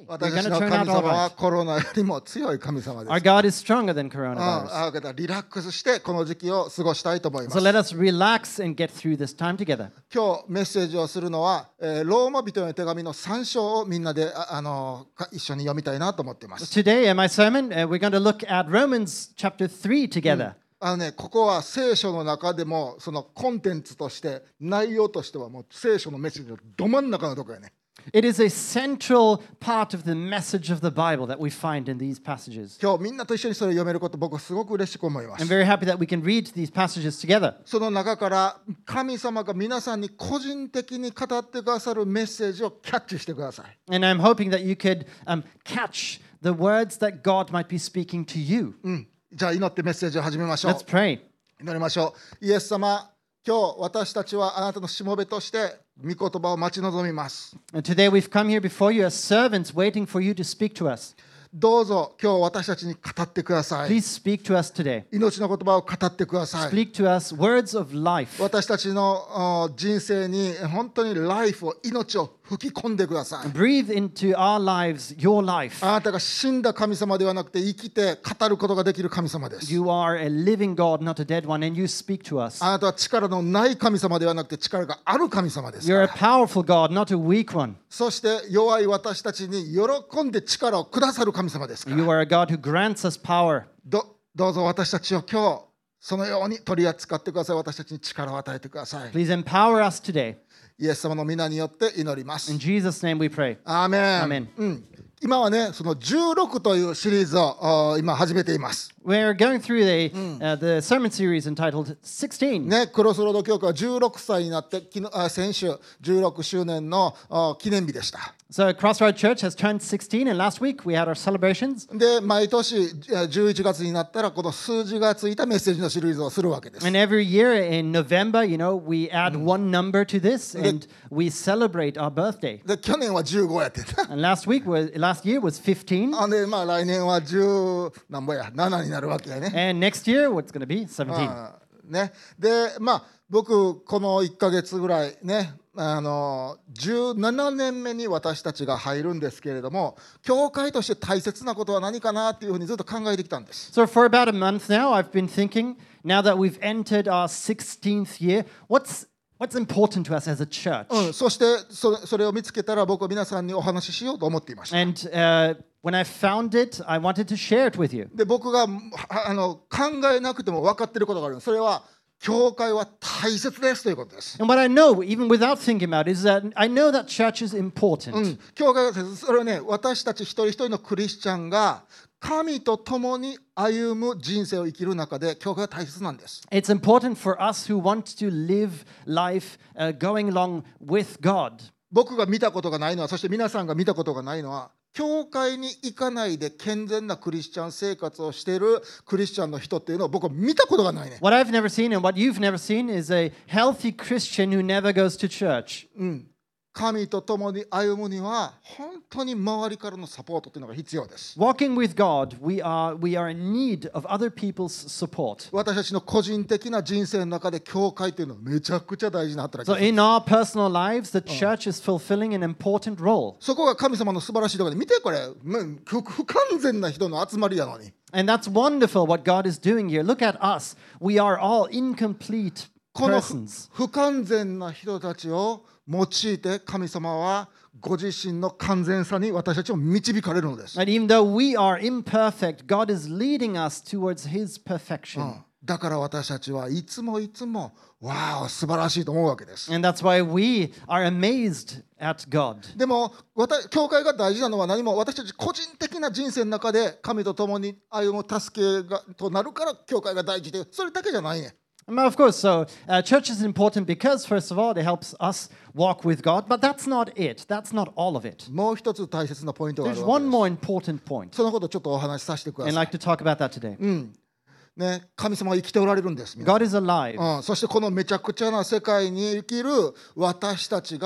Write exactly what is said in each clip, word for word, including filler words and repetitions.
私たちの神様はコロナよりも強い神様です。 Our God is stronger than うん、 coronavirus. あだからリラックスしてこの時期を過ごしたいと思いま So す。 let us relax and get through this time together. 今日メッセージをするのは、えーローマ人への手紙のさん章をみんなでああのか一緒に読みたいなと思っています。 Today in my sermon, uh, we're going to look at Romans chapter three together. あのね、ここは聖書の中でもそのコンテンツとして内容としてはもう聖書のメッセージのど真ん中のところやね。 It is a central part of the message of the Bible that we find in these passages. 今日みんなと一緒にそれを読めること僕はすごく嬉しく思いま I'm す。 very happy that we can read these passages together. その中から神様が皆さんに個人的に語ってくださるメッセージをキャッチしてください。 And I'm hoping that you could um, catch the words that God might be speaking to you. うん、じゃあ祈ってメッセージを始めましょう。 Let's pray. 祈りましょう。イエス様、今日私たちはあなたのしもべとして御言葉を待ち望みます。 And today we've come here before you as servants waiting for you to speak to us. どうぞ今日私たちに語ってください。 Please speak to us today. 命の言葉を語ってください。 Speak to us words of life. 私たちのあ人生に本当にライフを、命を吹き込んでください。 Breathe into our lives your life. あなたが死んだ神様ではなくて生きて語ることができる神様です。 You are a living God, not a dead one, and you speak to us. あなたは力のない神様ではなくて力がある神様ですか You're a ら。 powerful God, not a weak one. そして弱い私たちに喜んで力をくださる神様ですか You ら。 are a God who grants us power. どどうぞ私たちを今日そのように取り扱ってください。私たちに力を与えてください。 Please empower us today. イエス様の皆によって祈ります。 In Jesus' name we pray. アーメン。 アーメンうん、今はね、そのじゅうろくというシリーズをあ今始めています。 We're going through the, uh, the sermon series entitled sixteen. ね、クロスロード教会はじゅうろくさいになって昨日あ先週じゅうろくしゅうねんのあ記念日でした。 So Crossroad Church has turned sixteen, and last week we had our celebrations. で、毎年あじゅういちがつになったらこの数字がついたメッセージのシリーズをするわけです。 And every year in November, you know, we add one number to this, and we celebrate our birthday. で、去年はじゅうごやってた。 And last week was last year was fifteen, あで、まあ来年はじゅうなんぼやななになるわけやね。 and next year what's going to be seventeen. あね、でまあ僕このいっかげつぐらいねあのじゅうななねんめに私たちが入るんですけれども、教会として大切なことは何かなっていうふうにずっと考えてきたんです。 So for about a month now, I've been thinking, now that we've entered our sixteenth year, what's what's important to us as a church? うん、そしてそそれを見つけたら僕は皆さんにお話ししようと思っていました。 And uh, when I found it, I wanted to share it with you. で僕があの考えなくても分かっていることがある。それは教会は大切ですということです。 And what I know, even without thinking about it, is that I know that church is important. うん、教会は大切。それはね、私たち一人一人のクリスチャンが神と共に歩む人生を生きる中で教会は大切なんです。 It's important for us who want to live life uh, going along with God. 僕が見たことがないのは、そして皆さんが見たことがないのは、教会に行かないで健全なクリスチャン生活をしているクリスチャンの人っていうのを僕は見たことがないね。 What I've never seen and what you've never seen is a healthy Christian who never goes to church. うん神と共に歩むには本当に周りからのサポートというのが必要です。 Walking with God, we are, we are in need of other people's support. 私たちの個人的な人生の中で教会というのはめちゃくちゃ大事な働き So です。 in our personal lives, the church is fulfilling an important role. そこが神様の素晴らしいところで、見てこれ、うん不不完全な人の集まりやのに。 And that's wonderful what God is doing here. Look at us. We are all incomplete この不 persons. 不完全な人たちを用いて神様はご自身の完全さに私たちを導かれるのです。 And even though we are imperfect, God is leading us towards His perfection. うんだから私たちはいつもいつもわあ素晴らしいと思うわけです。 And that's why we are amazed at God. でも私教会が大事なのは何も私たち個人的な人生の中で神と共に歩む助けがとなるから教会が大事で、それだけじゃないね。 Well, of course, so uh, church is important because, first of all, it helps us walk with God, but that's not it. That's not all of it. もう一つ大切なポイントがあ There's るわけ one です。 more important point, そのことをちょっとお話しさせてくだ and さ I'd い。 like to talk about that today. うんね、神様は生きておられるんです。皆さん God is alive. うん、そしてこのめちゃくちゃな世界に生きる私たちが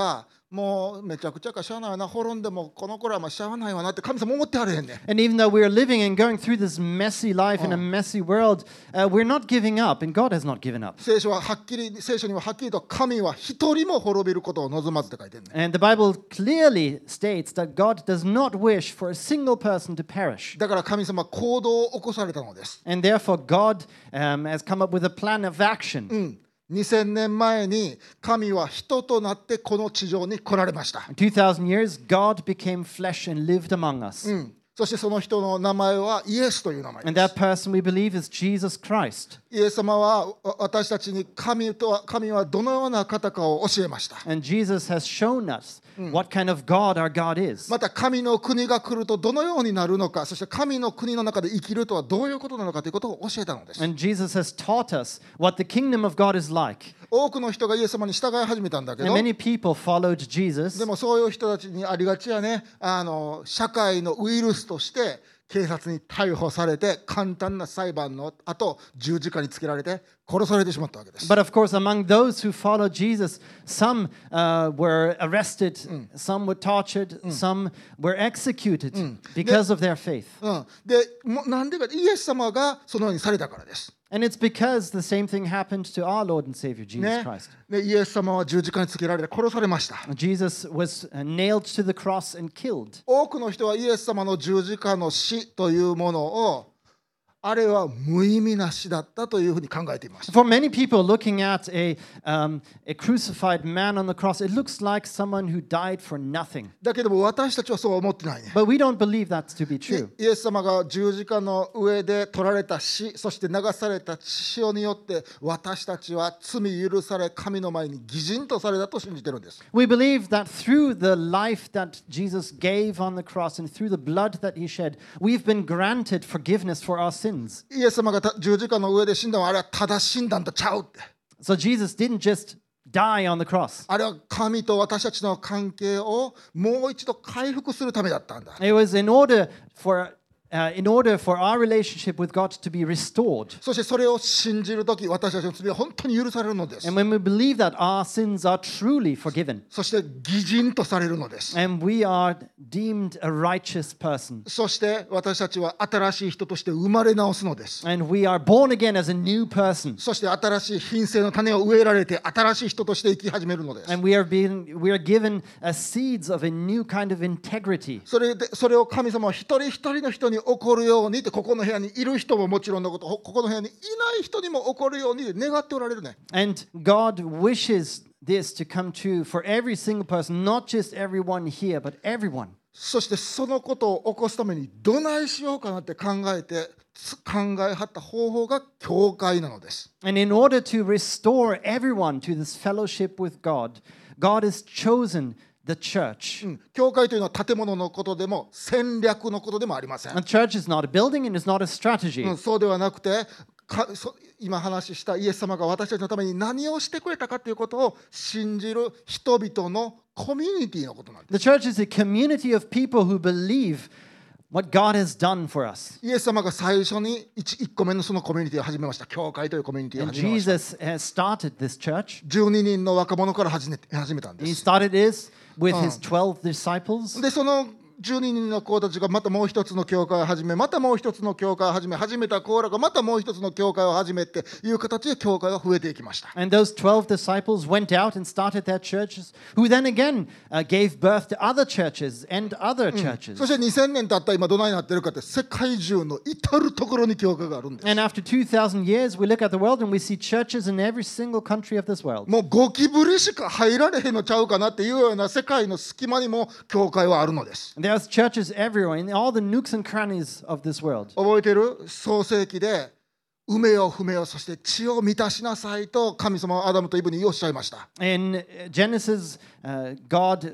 もうめちゃくちゃかしゃあないな、滅んでもこの頃はまあしゃあないわなって神様思ってはれへんねん。 And even though we're living and going through this messy life in a messy world, uh, we're not giving up, and God has not given up. 聖書ははっきり聖書にははっきりと神は一人も滅びることを望まずって書いてるねん。 And the Bible clearly states that God does not wish for a single person to perish. だから神様は行動を起こされたのです。 And therefore, God um, has come up with a plan of action. うん、にせんねんまえに神は人となってこの地上に来られました。 two thousand years, God became flesh and lived among us. うん、そしてその人の名前はイエスという名前 And で that す。 person we believe is Jesus Christ. イエス様はわ私たちに神とは神はどのような方かを教えました。 And Jesus has shown us what kind of God our God is. また神の国が来るとどのようになるのか、そして神の国の中で生きるとはどういうことなのかということを教えたのです。 And Jesus has taught us what the kingdom of God is like. 多くの人がイエス様に従い始めたんだけ And ど、 many people followed Jesus. でもそういう人たちにありがちやね、あの社会のウイルスとして警察に逮捕されて、簡単な裁判の後十字架につけられて殺されてしまったわけです。 But of course, among those who followed Jesus, some uh, were arrested, some were tortured, some were executed because of their faith. うん、でもなんでか、イエス様がそのようにされたからです。 And it's because the same thing happened to our Lord and Savior Jesus ね Christ. でイエス様は十字架につけられて殺されました。 Jesus was uh, nailed to the cross and killed. 多くの人はイエス様の十字架の死というものを、あれは無意味な死だったというふうに考えていました。 For many people looking at a, um, a crucified man on the cross, it looks like someone who died for nothing. だけども私たちはそうは思ってないね。 But we don't believe that to be true. イエス様が十字架の上で取られた死、そして流された血潮によって私たちは罪許され、神の前に義人とされたと信じてるんです。 We believe that through the life that Jesus gave on the cross and through the blood that he shed, we've been granted forgiveness for our sins. イエス様がた十字架の上で死んだのはあれはただ死んだんとちゃうって。 So Jesus didn't just die on the cross. あれは神と私たちの関係をもう一度回復するためだったんだ。 It was in order for Uh, in order for our relationship with God to be restored. そしてそれを信じるとき、私たちの罪は本当に許されるのです。 And when we believe that our sins are truly forgiven, そして義人とされるのです。 and we are deemed a righteous person, そして私たちは新しい人として生まれ直すのです。 and we are born again as a new person, そして新しい品性の種を植えられて新しい人として生き始めるのです。 and we are being we are given uh, seeds of a new kind of integrity. それでそれを神様は一人一人の人に起こるようにって、ここの部屋にいる人ももちろんのこと、ここの部屋にいない人にも起こるように願っておられるね。 And God wishes this to come true for every single person, not just everyone here, but everyone. そしてそのことを起こすためにどないしようかなって考えて考えはった方法が教会なのです。 And in order to restore everyone to this fellowship with God, God has chosen the church. うん、教会というのは建物のことでも戦略のことでもありません。 A church is not a building and it's not a strategy. うん、そうではなくてかそ今話したイエス様が私たちのために何をしてくれたかということを信じる人々のコミュニティのことなんです。 The church is a community of people who believe what God has done for us. イエス様が最初に 1, 1個目のそのコミュニティを始めました。教会というコミュニティを And 始めました。 Jesus has started this church. じゅうににんの若者から始め始めたんで He す。 started this with his twelve disciples. でそのじゅうににんの子たちがまたもう一つの教会を始め、またもう一つの教会を始め、始めた子らがまたもう一つの教会を始めっていう形で教会が増えていきました。 And those twelve disciples went out and started their churches, who then again uh, gave birth to other churches and other churches. そしてにせんねん経った今どないなってるかって、世界中の至るところに教会があるんです。 And after two thousand years, we look at the world and we see churches in every single country of this world. もうゴキブリしか入られへんのちゃうかなっていうような世界の隙間にも教会はあるのです。 And there's churches everywhere, in all the nooks and crannies of this world. 覚えてる？創世記で埋めよ踏めよ、そして地を満たしなさいと神様はアダムとイブにおっしゃいました。 In Genesis, uh, God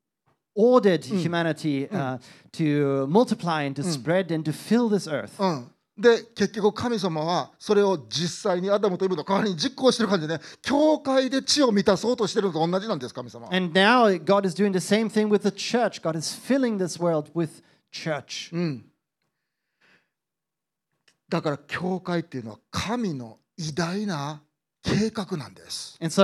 ordered humanity uh, to multiply and to spread and to fill this earth. うん、で結局神様はそれを実際にアダムとイブの代わりに実行してる感じでね、教会で地を満たそうとしてるのと同じなんです、神様は。 And now God is doing the same thing with the church. God is filling this world with church. うん、だから教会っていうのは神の偉大な計画なんです。 And so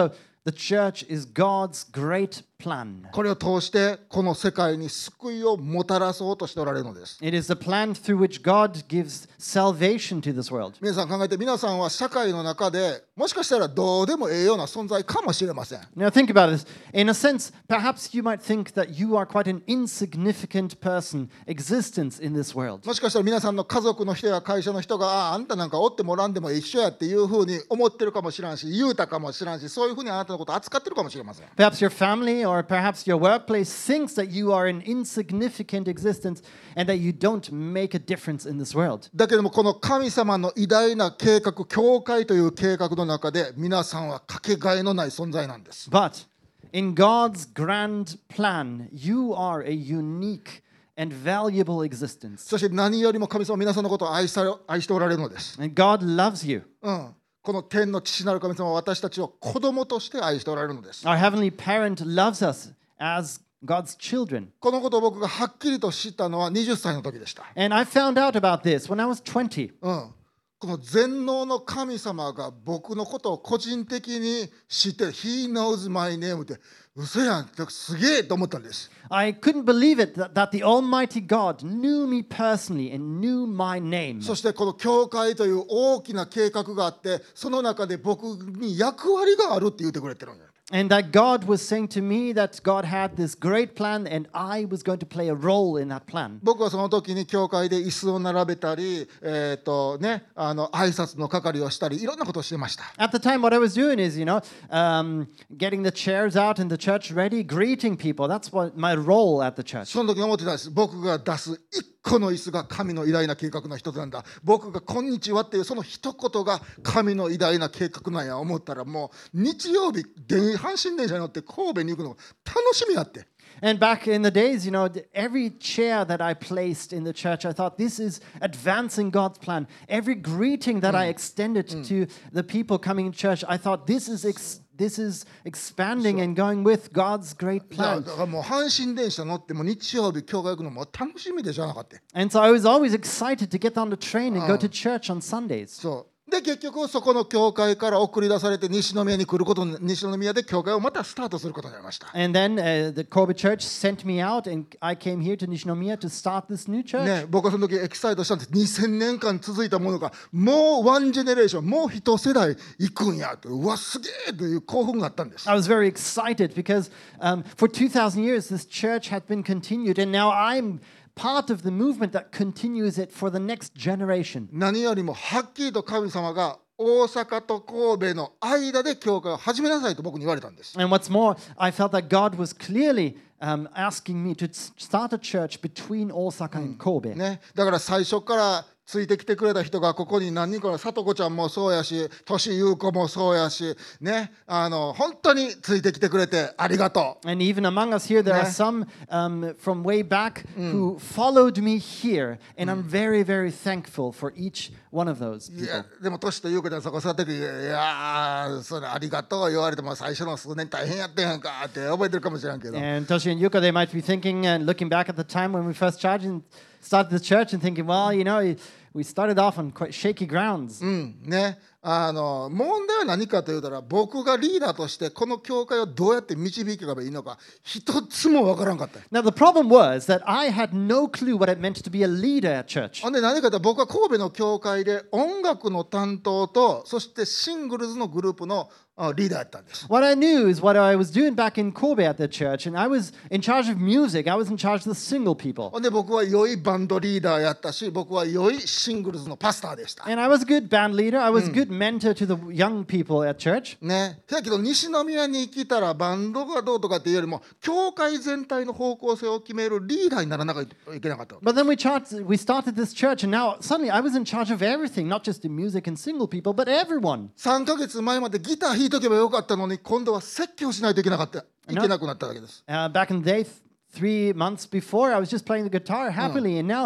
The church is God's great plan. これを通してこの世界に救いをもたらそうとしておられるのです。 It is the plan through which God gives salvation to this world. 皆さん考えて、皆さんは社会の中でもしかしたらどうでもええような存在かもしれません。 Now think about this. In a sense, perhaps you might think that you are quite an insignificant person, existence in this world. もしかしたら皆さんの家族の人や会社の人が、ああ、あんたなんかおってもらんでも一緒やっていうふうに思ってるかもしれんし、言うたかもしれんし、そういうふうにあなたのことを扱ってるかもしれません。 Perhaps your family or perhaps your workplace thinks that you are an insignificant existence and that you don't make a difference in this world. だけどもこの神様の偉大な計画、教会という計画の中で皆さんはかけがえのない存在なんです。 But in God's grand plan, you are a unique and valuable existence. そして何よりも神様は皆さんのことを愛され愛しておられるのです。 And God loves you. うん、この天の父なる神様は私たちを子供として愛しておられるのです。 Our heavenly parent loves us as God's children. このことを僕がはっきりと知ったのははたちの時でした。 And I found out about this when I was twenty. うん、この全能の神様が僕のことを個人的に知ってる。He knows my name って嘘やんってすげえと思ったんです。 I couldn't believe it that, that the Almighty God knew me personally and knew my name. そしてこの教会という大きな計画があって、その中で僕に役割があるって言ってくれてるんや。 And that God was saying to me that God had this great plan and I was going to play a role in that plan. 僕はその時に教会で椅子を並べたり、えーとね、あの挨拶の係をしたり、いろんなことをしてました。 At the time, what I was doing is, you know, um, getting the chairs out and the church ready, greeting people. That's what my role at the church. その時に思ってたんです。僕が出す一個の椅子が神の偉大な計画の一つなんだ。僕がこんにちはっていうその一言が神の偉大な計画なんや思ったら、もう日曜日電阪神電車に乗って神戸に行くのが楽しみやって。 And back in the days, you know, every chair that I placed in the church, I thought this is advancing God's plan. Every greeting that I extended to the people coming to church, I thought this is ex- this is expanding and going with God's great だから plan. だからもう阪神電車乗っても日曜日教会行くのも楽しみでしょなかった。 And so I was always excited to get on the train and go to church on Sundays. そうで結局そこの教会から送り出されて西宮に来ることに、西宮で教会をまたスタートすることになりました。 And then uh, the Kobe church sent me out and I came here to Nishinomiya to start this new church. ね、僕はその時エキサイトしたんです。にせんねんかん続いたものがもうワンジェネレーション、もう一世代行くんやと、うわすげえという興奮があったんです。 I was very excited because um, for two thousand years this church had been continued and now I'm part of the movement that continues it for the next generation. 何よりもはっきりと神様が大阪と神戸の間で教会を始めなさいと僕に言われたんです。 And what's more, I felt that God was clearly um, asking me to s- start a church between Osaka and Kobe. ね、だから最初からついてきてくれた人がここに何人か、さとこちゃんもそうやし、としゆうこもそうやし、ね、あの本当についてきてくれてありがとう。 And even among us here, there are Yeah. some um, from way back who followed me here. And I'm very, very thankful for each one of those いや people. でもとしとゆうこちゃんそこ座ってくる、いやーそれありがとう言われても最初の数年大変やったやんかって覚えてるかもしれんけど、 And Toshi and Yuka, they might be thinking and looking back at the time when we first charged and started the church and thinking, well, you know, we started off on quite shaky grounds. うんね、あの問題は何かというたら、僕がリーダーとしてこの教会をどうやって導けばいいのか一つもわからんかった。 Now, the problem was that I had no clue what it meant to be a leader at church. ほんで何かというと、僕は神戸の教会で音楽の担当と、そしてシングルズのグループのあリーダーやったんです。 What I knew is what I was doing back in Kobe at the church, and I was in charge of music. I was in charge of the single people. ほんで僕は良いバンドリーダーやったし、僕は良いシングルズのパスターでした。 And I was a good band leader. I was a good mentor to the young people at church. ね、だけど西宮に来たらバンドがどうとかっていうよりも、教会全体の方向性を決めるリーダーにならなきゃいけなかった。 But then we, chart- we started this church, and now suddenly I was in charge of everything, not just the music and single people, but everyone. さんかげつまえまでギター弾いとけばよかったのに、今度は説教しないといけなかったいけなくなったわけです。 Uh, back in the day, th- three months before, I was just playing the guitar happily, and now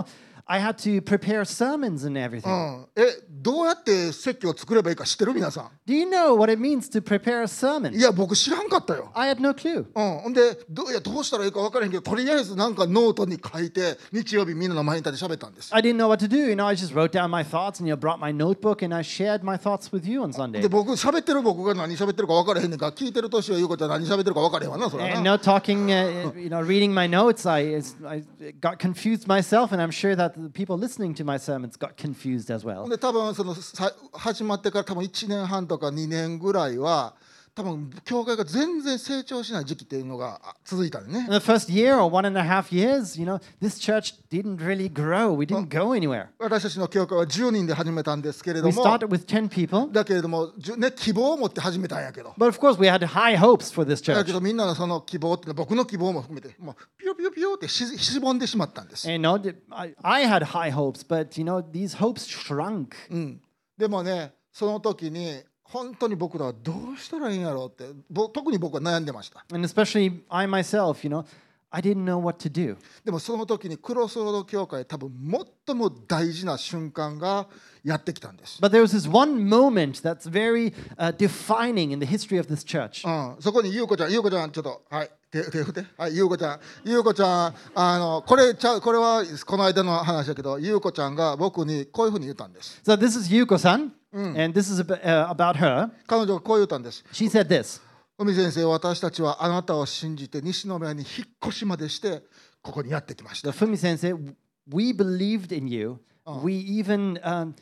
I had to prepare sermons and う everything. ん、えどうやって説教を作ればいいか知ってる皆さん？ Do you know what it means to prepare a sermon? いや僕知らんかったよ。 I had no clue. うん、ほんでどういやどうしたらいいか分からへんけどとりあえずなんかノートに書いて日曜日みんなの前に立って喋ったんです。 I didn't know what to do. You know, I just wrote down my thoughts and you know, brought my notebook and I shared my thoughts with you on Sunday. で僕喋ってる僕が何喋ってるか分からへんねんから聞いてる年は言うことは何喋ってるか分からへんわなそれは And な。 no talking, uh, you know, reading my notes, I, I got confused myself, and I'm sure that the people listening to my sermons got confused as ほ well. んで多分そのさ始まってから多分いちねんはんとかにねんぐらいは多分教会が全然成長しない時期っていうのがあ続いたんね。 In the first year or one and a half years, you know, this church didn't really grow. We didn't go anywhere. 私たちの教会はじゅうにんで始めたんですけれど We も started with ten people, だけれども、じゅね、希望を持って始めたんやけど but of course we had high hopes for this だ church. けどみんなのその希望っていうのは僕の希望も含めてもうピヨピヨピヨってししぼんでしまったんです、 And you know, I, I had high hopes, but you know, these hopes shrunk. うん、でもねその時に本当に僕らはどうしたらいいんやろうってぼ特に僕は悩んでました。 And especially I myself, you know, I didn't know what to do. でもその時にクロスロード教会多分最も大事な瞬間がやってきたんです、 But there was this one moment that's very uh, defining in the history of this church. うん、そこに優子ちゃん優子ちゃんちょっとはい手手振ってはい優子ちゃん優子ちゃんあのこれちゃうこれはこの間の話だけど優子ちゃんが僕にこういうふうに言ったんです。 So this is Yuko-san, and this is ab- uh, about her. 彼女がこう言ったんです。 She said this. 海先生、私たちはあなたを信じて西宮に引っ越しまでしてここにやってきまし The た。 Fumi sensei, we believed in you. We even um,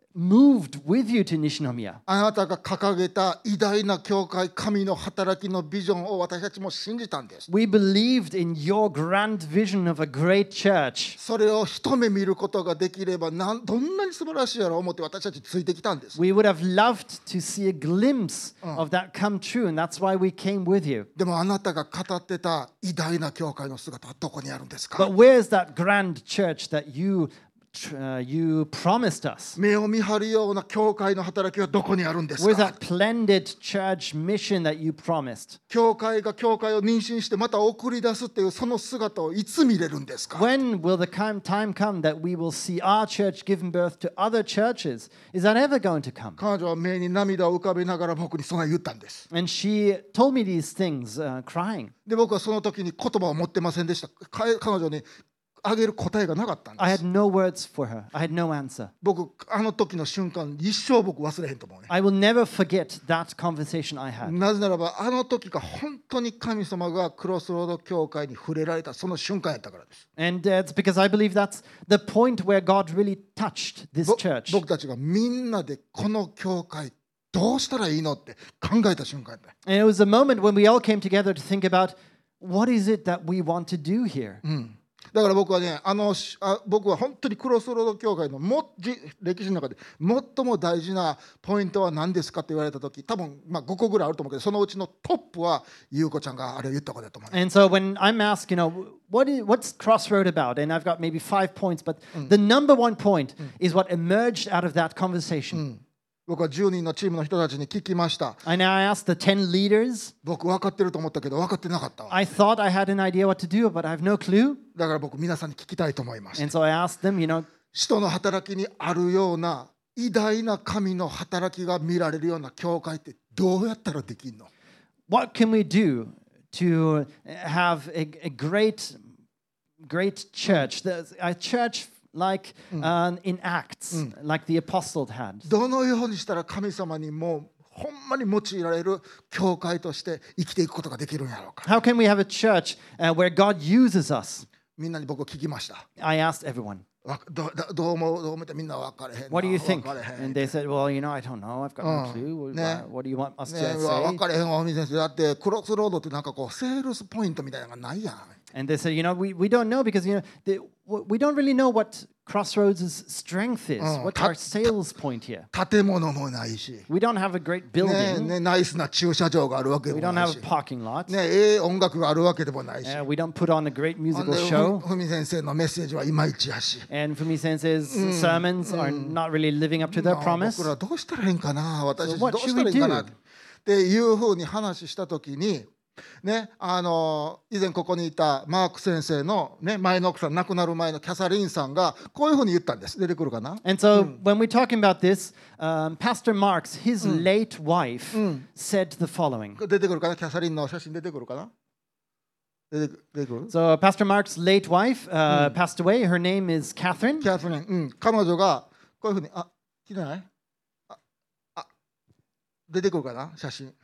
moved with you to Nishinomiya. あなたが掲げた偉大な教会、神の働きのビジョンを私たちも信じたんです。 We believed in your grand vision of a great church. それを一目見ることができればなんどんなに素晴らしいやろう思って私たちついてきたんです。 We would have loved to see a glimpse of that come true, and that's why we came with you. でもあなたが語ってた偉大な教会の姿はどこにあるんですか？ But where's that grand church that you uh, you promised us? 目を見張るような教会の働きはどこにあるんです Where's か？ that splendid church mission that you promised? 教会が教会を妊娠してまた送り出すっていうその姿をいつ見れるんですか？ When will the time time come that we will see our church giving birth to other churches? Is that ever going to come? 彼女は目に涙を浮かべながら僕にそんな言ったんです。 And she told me these things, uh, crying. で僕はその時に言葉を持ってませんでした。か彼女にあげる答えがなかったん I で had す。 no words for her. I had no answer. 僕あの時の瞬間一生僕忘れへんと思うね。 I will never forget that conversation I had. なぜならばあの時が本当に神様がクロスロード教会に触れられたその瞬間やったからです。 And uh, it's because I believe that's the point where God really touched this ぼ church. 僕たちがみんなでこの教会どうしたらいいのって考えた瞬間やった。 And it was a moment when we all came together to think about what is it that we want to do here. だから僕はねあのあ僕は本当にクロスロード教会のもじ歴史の中で最も大事なポイントは何ですかって言われた時多分まあごこぐらいあると思うけどそのうちのトップは優子ちゃんがあれを言ったことだと思う、ね、 And so when I'm asked, you know, what is, what's Crossroad about? And I've got maybe five points, but the number one point is what emerged out of that conversation. 僕はじゅうにんのチームの人たちに聞きました。 And I asked the ten leaders. 僕分かってると思ったけど分かってなかったわ。 I thought I had an idea what to do, but I have no clue. だから僕皆さんに聞きたいと思います。 And so I asked them, you know, 使徒の働きにあるような偉大な神の働きが見られるような教会ってどうやったらできるの？ what can we do to have a, a great, great church? There's a church like uh, in Acts, like the apostles had. どのようにしたら神様にもうほんまに用いられる教会として生きていくことができるんやろうか。 How can we have a church uh, where God uses us? みんなに僕聞きました。 I asked everyone, わどどどう思うどう思ってみんな分かれへんな。 what do you think? 分かれへん And they said, well, you know, I don't know. I've got no Uh, clue. ne. What, what do you want us ね to え、わ say? 分かれへんわ、海先生。だってクロスロードってなんかこうセールスポイントみたいなのがないやん。 And they said, you know, we, we don't know because, you know, the, we don't really know what Crossroads' strength is. Uh, What's ta- our sales point here? 建物もないし、 We don't have a great ね building. ね、ナイスな駐車場があるわけで We も don't ない have し a、parking lot. ね、ええ音楽があるわけでもないし、 Uh, we don't put on a great ほん musical で show. ふみ先生のメッセージはいまいちやし、 And Fumi Sensei's sermons are not really living up to their まあ promise. 僕らどうしたらいいんかな、私た So ち what どうしたらいいんかな should we do? っていうふうに話したときに、 ね、あの以前ここにいたマーク先生の、ね、前の奥さん、亡くなる前のキャサリンさんがこういうふうに言ったんです。出てくるかな。 And so when we're talking about this, um, Pastor Marks, his late wife, said the following. 出てくるかな。キャサリンの写真出てくるかな。出てく出てくる So Pastor Mark's late wife uh, passed away. Her name is Catherine. キャサリン、うん、彼女がこういうふうに、あ、来てないああ出てくるかな、写真。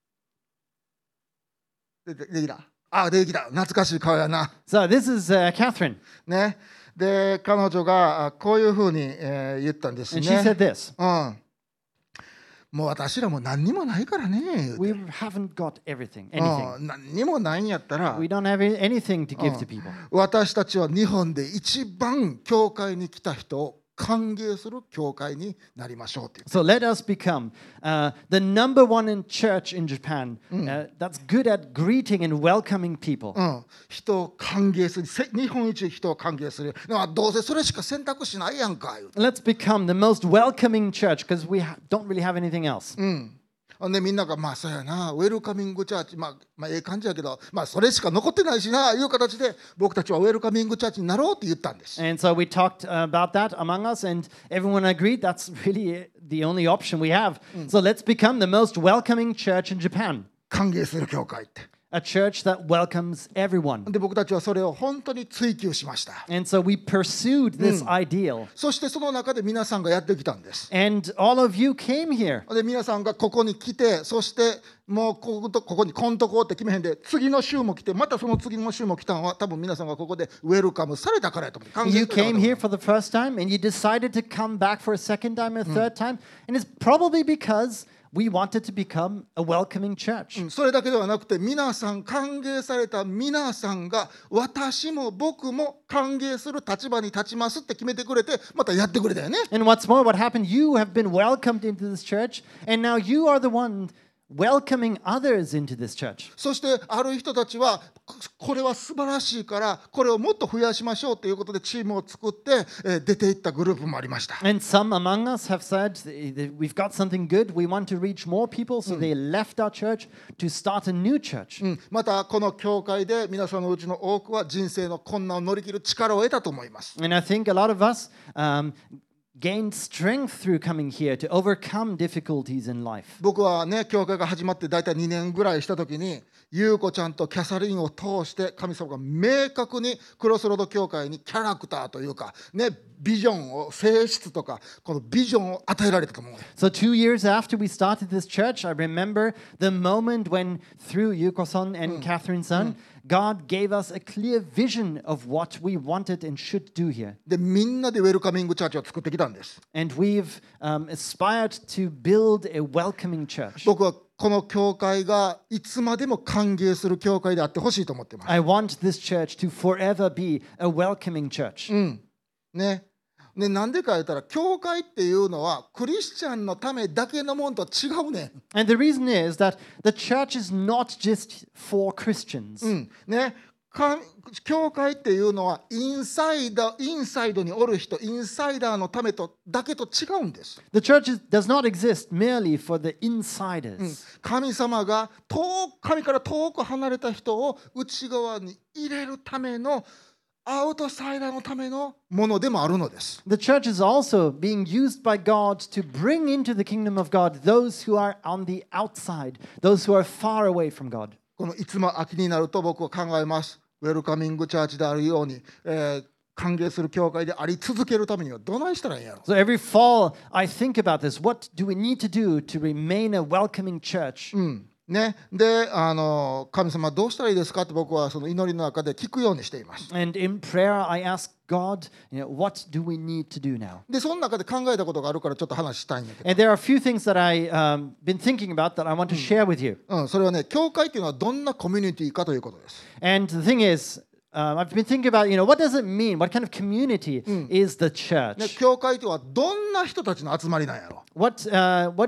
ででできた。あ、出てきた。懐かしい顔やな。 So this is uh, Catherine. ね。で、彼女があこういうふうに、えー言ったんです And she ね。 said this. うん。もう私らも何にもないからね。言うて We haven't got everything, anything. うん何にもないんやったら、 We don't have anything to give to people. 私たちは日本で一番教会に来た人を歓迎する教会になりましょうっていう。 So let us become uh, the number one in church in Japan uh, that's good at greeting and welcoming people. うん、人を歓迎する、せ日本一人を歓迎する。まあどうせそれしか選択肢ないやんか言うて。 Let's become the most welcoming church because we ha- don't really have anything else. うんほんでみんながまあそうやな、ウェルカミングチャーチ、まあ、まあええ感じやけど、まあそれしか残ってないしないう形で僕たちはウェルカミングチャーチになろうって言ったんです。 And so we talked uh, about that among us, and everyone agreed that's really the only option we have. So let's become the most welcoming church in Japan, 歓迎する教会って。 a church that welcomes everyone. で僕たちはそれを本当に追求しました。 And so we pursued this ideal. そしてその中で皆さんがやってきたんです。 And all of you came here. で皆さんがここに来て、そしてもうこことここにこんとこって決めへんで、次の週も来て、またその次の週も来たのは多分皆さんがここでウェルカムされたからやと思う。歓迎 You されたから came だと思う here for the first time and you decided to come back for a second time and a third time. And it's probably because we wanted to become a welcoming church. それだけではなくて、皆さん歓迎された皆さんが私も僕も歓迎する立場に立ちますって決めてくれて、またやってくれたよね。 And what's more, what happened, you have been welcomed into this church, and now you are the one welcoming others into this church. そしてある人たちはこれは素晴らしいからこれをもっと増やしましょうということでチームを作ってえー出ていったグループもありました。 And some among us have said, that we've got something good, we want to reach more people, so they left our church to start a new church. うんまたこの教会で皆さんのうちの多くは人生の困難を乗り切る力を得たと思います。 And I think a lot of us um, gained strength through coming here to overcome difficulties in life. 僕はね、教会が始まって大体にねんぐらいした時に、優子ちゃんとキャサリンを通して神様が明確にクロスロード教会にキャラクターというか、ね、ビジョンを、性質とか、このビジョンを与えられたと思う。 So two years after we started this church, I remember the moment when through Yuko-san and Catherine-san, God gave us a clear vision of what we wanted and should do here. で、みんなでウェルカミングチャーチを作ってきたんです。 And we've um, aspired to build a welcoming church. 僕はこの教会がいつまでも歓迎する教会であってほしいと思ってます。 I want this church to forever be a welcoming church. ね。ね、なんでか言ったら、教会っていうのはクリスチャンのためだけのものとは違うね。 And the reason is that the church is not just for Christians. うんね、か教会っていうのはインサイダー、インサイドにおる人、インサイダーのためとだけと違うんです。 The church is, does not exist merely for the insiders. 神様が遠く神から遠く離れた人を内側に入れるためのアウトサイダーのためのものでもあるのです。 The church is also being used by God to bring into the kingdom of God those who are on the outside, those who are far away from God. このいつも秋になると僕は考えます。ウェルカミングチャーチであるように、えー、歓迎する教会であり続けるためにはどないしたらいいんやろ。 So every fall, I think about this. What do we need to do to remain a welcoming church? うんね、であの神様どうしたらいいですかって僕はその祈りの中で聞くようにしています。 And in prayer, I ask God, you know, what do we need to do now? でその中で考えたことがあるからちょっと話したいんだけど、 And there are a few things that I've um, been thinking about that I want to share with you. うん、それはね、教会っていうのはどんなコミュニティかということです。 And the thing is, um, I've been thinking about, you know, what does it mean? What kind of community is the ね、 church? 教会とはどんな人たちの集まりなんやろ。 What, uh, what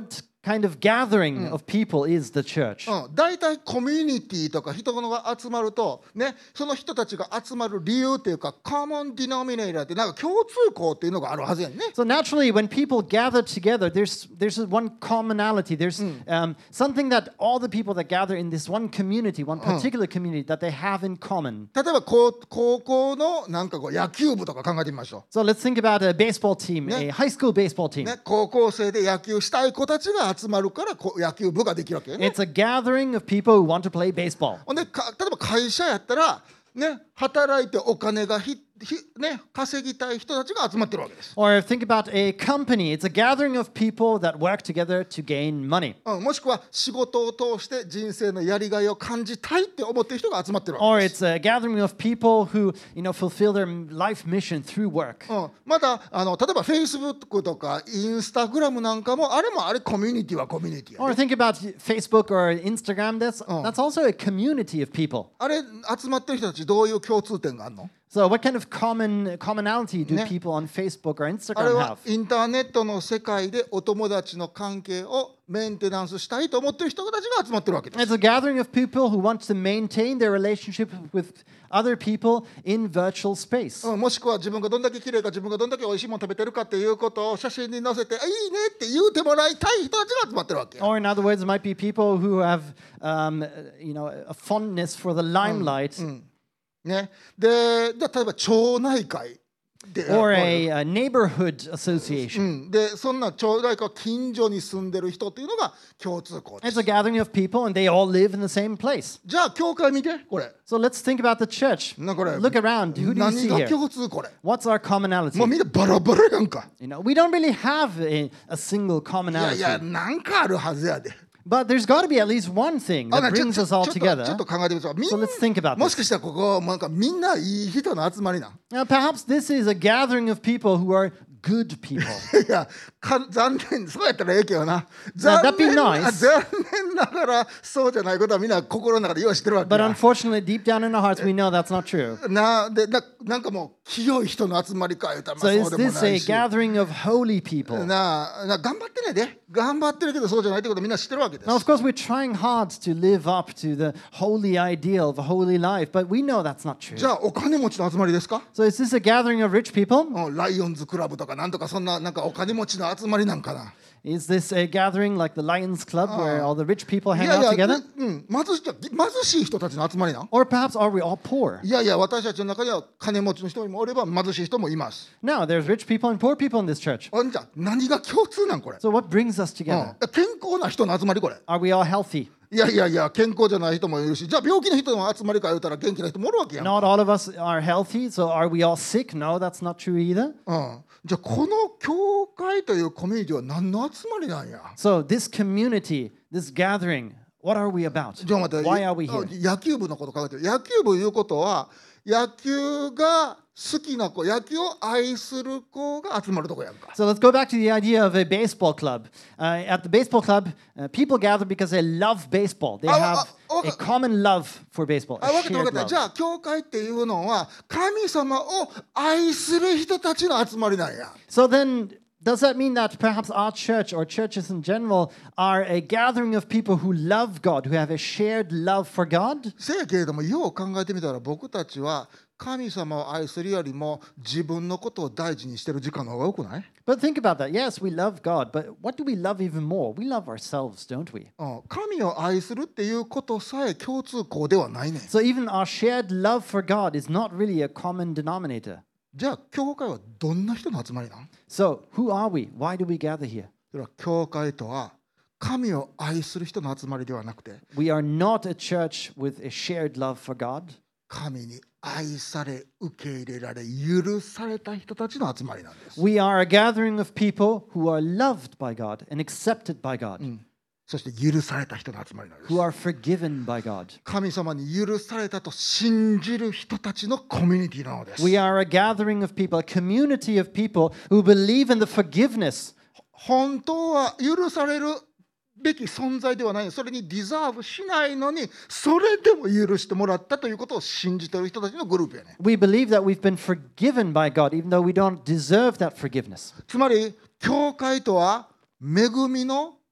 kind of gathering of people is the church. うん、大体コミュニティとか人が集まると、ね、その人たちが集まる理由っていうか、コモンディノミネーターってなんか共通項っていうのがあるはずやんね。 So naturally, when people gather together, there's there's one commonality. There's um, something that all the people that gather in this one community, one particular community, that they have in common. 例えば高高校のなんかこう野球部とか考えてみましょ So let's think about a baseball team, Yeah. a high school baseball う。 team. ね、高校生で野球したい子たちが集まるからこう野球部ができるわけよね。 It's a gathering of people who want to play baseball. ほんでか例えば会社やったら、ね、働いてお金がひひ、ね、稼ぎたい人たちが集まってるわけです。 Or think about a company. It's a gathering of people that work together to gain money. うん、もしくは仕事を通して人生のやりがいを感じたいって思ってる人が集まってるわ Or けです。 it's a gathering of people who, you know, fulfill their life mission through work. うん、またあの例えば Facebook とか Instagram なんかもあれもあれコミュニティはコミュニティや Or ね。 think about Facebook or Instagram. That's that's also a community of people. あれ集まってる人たちどういう共通点があるの？ So what kind of common commonality do Ne. people on Facebook or あれ Instagram は have? インターネットの世界でお友達の関係をメンテナンスしたいと思ってる人たちが集まってるわけです。 It's a gathering of people who want to maintain their relationship with other people in virtual space. うん、もしくは自分がどんだけ綺麗か自分がどんだけ美味しいもの食べてるかっていうことを写真に載せて、あいいねって言うてもらいたい人たちが集まってるわけよ。 Or in other words, it might be people who have, um, you know, a fondness for the limelight. ね、で、じゃあ例えば町内会で、 Or a, a neighborhood う association. ん、でそんな町内会は近所に住んでる人っていうのが共通項で It's す。 a gathering of people and they all live in the same place. じゃあ教会見てこれ。 So let's think about the church. なこれ Look around. Who do you 何 see が here? 共通これ。 What's our commonality? もうみんなバラバラやんか。 You know, we don't really have a, a single いやいや commonality. なんかあるはずやで。 But there's got to be at least one thing あ that なちょ brings ちょ us all ちょっと together. ちょっと考えてみましょう。みん So let's think about もし this. かしたらここなんかみんないい人の集まりなん。 Now, perhaps this is a gathering of people who are good people. いやか残念そうやったらええけどな。 Now, 残 that'd be 念 nice. あ残念ながらそうじゃないことはみんな心の中でよう知ってるわけ But や。 unfortunately, deep down in our hearts, we know that's not true. なでななんかもう清い人の集まりか言うたらま So あ is そうでも this な a いし。 gathering of holy people? なな頑張ってねで頑張ってるけどそうじゃないってことみんな知ってるわけです。 Now, of course, we're trying hard to live up to the holy ideal of a holy life, but we know that's not true. じゃあお金持ちの集まりですか？ So is this a gathering of rich people? うんライオンズクラブとかなんとかそんななんかお金持ちの集まりなんかな。 Is this a gathering like the Lions Club where all the rich people い hang や out いや、 together? うん、貧しい貧しい人たちの集まりなん。 Or perhaps are we all poor? いやいや私たちの中には金持ちの人もおれば貧しい人もいます。 No, there's rich people and poor people in this church. あんじゃ何が共通なんこれ、 So what brings us うん together? 健康な人の集まりこれ。 Are we all healthy? いやいやいや健康じゃない人もいるしじゃあ病気の人の集まりか言うたら元気な人もおるわけやん、 Not all of us are healthy, so are we all sick? No, that's not true either. うん、じゃあこの教会というコミュニティは何の集まりなんや。 So this community, this gathering, what are we about? じゃあ待って Why are we あ here? 野球部のこと考えてる。野球部いうことは野球が好きな子野球を愛する子が集まるとこやんか。 So let's go back to the idea of a baseball club. Uh, at the baseball club, uh, people gather because they love baseball. They Ah, have ah, okay. a common love for baseball, あ a 分かった分 shared かった。 love. じゃあ教会っていうのは神様を愛する人たちの集まりなんや。 So then, does that mean that perhaps our church or churches in general are a gathering of people who love God, who have a shared love for God? せやけれどもよう考えてみたら僕たちは神様を愛するよりも自分のことを大事にしてる時間の方が多くない？ But think about that. Yes, we love God, but what do we love even more? We love ourselves, don't we? うん、神を愛するっていうことさえ共通項ではないねん。 So even our shared love for God is not really a common denominator. じゃあ教会はどんな人の集まりなん？ So who are we? Why do we gather here? それは教会とは神を愛する人の集まりではなくて We are not a church with a shared love for God. 神に愛され受け入れられ許された人たちの集まりなんです。 We are a gathering of people who are loved by God and accepted by God, そして許された人の集まりなんです。 who are forgiven by God. 神様に許されたと信じる人たちのコミュニティなのです。 We are a gathering of people, a community of people who believe in the forgiveness. 本当は許されるべき存在ではない、それにディザーブしないのにそれでも許してもらったということを信じている人たちのグループやね。 We believe that we've been forgiven by God, even though we don't deserve that forgiveness. つまり教会とは恵みの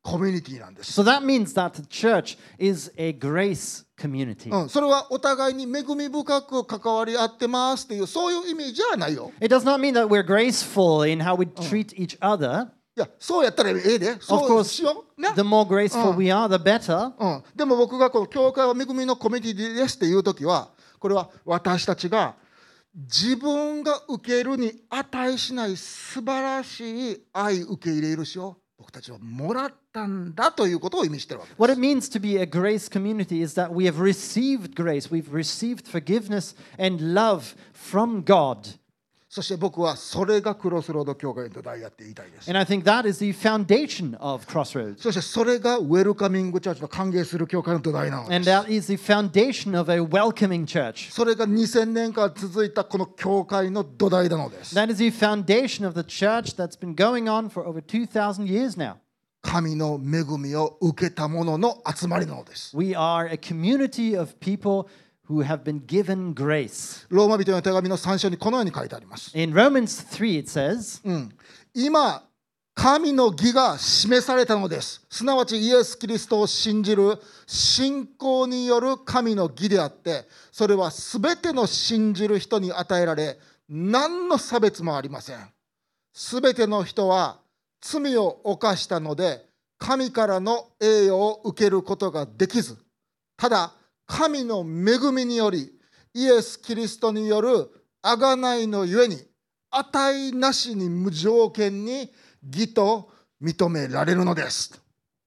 コミュニティなんです。 So that means that the church is a grace community. うん、それはお互いに恵み深く関わり合ってますっていうそういう意味じゃないよ。 It does not mean that we're graceful in how we treat each other. いや、そうやったらええで。 Of そう course, しよう。ね。 the more graceful we are, the better. うん、でも僕がこの教会は恵みのコミュニティですっていうときは、これは私たちが自分が受けるに値しない素晴らしい愛受け入れ許しを僕たちはもらったんだということを意味しているわけです。 What it means to be a grace community is that we have received grace, we've received forgiveness and love from God. そして僕はそれがクロスロード教会の土台やって言いたいです。 And I think that is the foundation of Crossroads. そしてそれがウェルカミングチャーチの歓迎する教会の土台なので And す。 that is the foundation of a welcoming church. それがにせんねんかん続いたこの教会の土台なのです。 That is the foundation of the church that's been going on for over two thousand years now. 神の恵みを受けた者の集まりなのです。 We are a community of people who have been given grace. ローマ人の手紙のさん章にこのように書いてあります。 In Romans three, it says, うん、今、神の義が示されたのです。すなわちイエス・キリストを信じる信仰による神の義であって、それはすべての信じる人に与えられ、何の差別もありません。すべての人は罪を犯したので、神からの栄誉を受けることができず、ただ、神の恵みにより、イエス・キリストによる贖いのゆえに、値なしに無条件に義と認められるのです。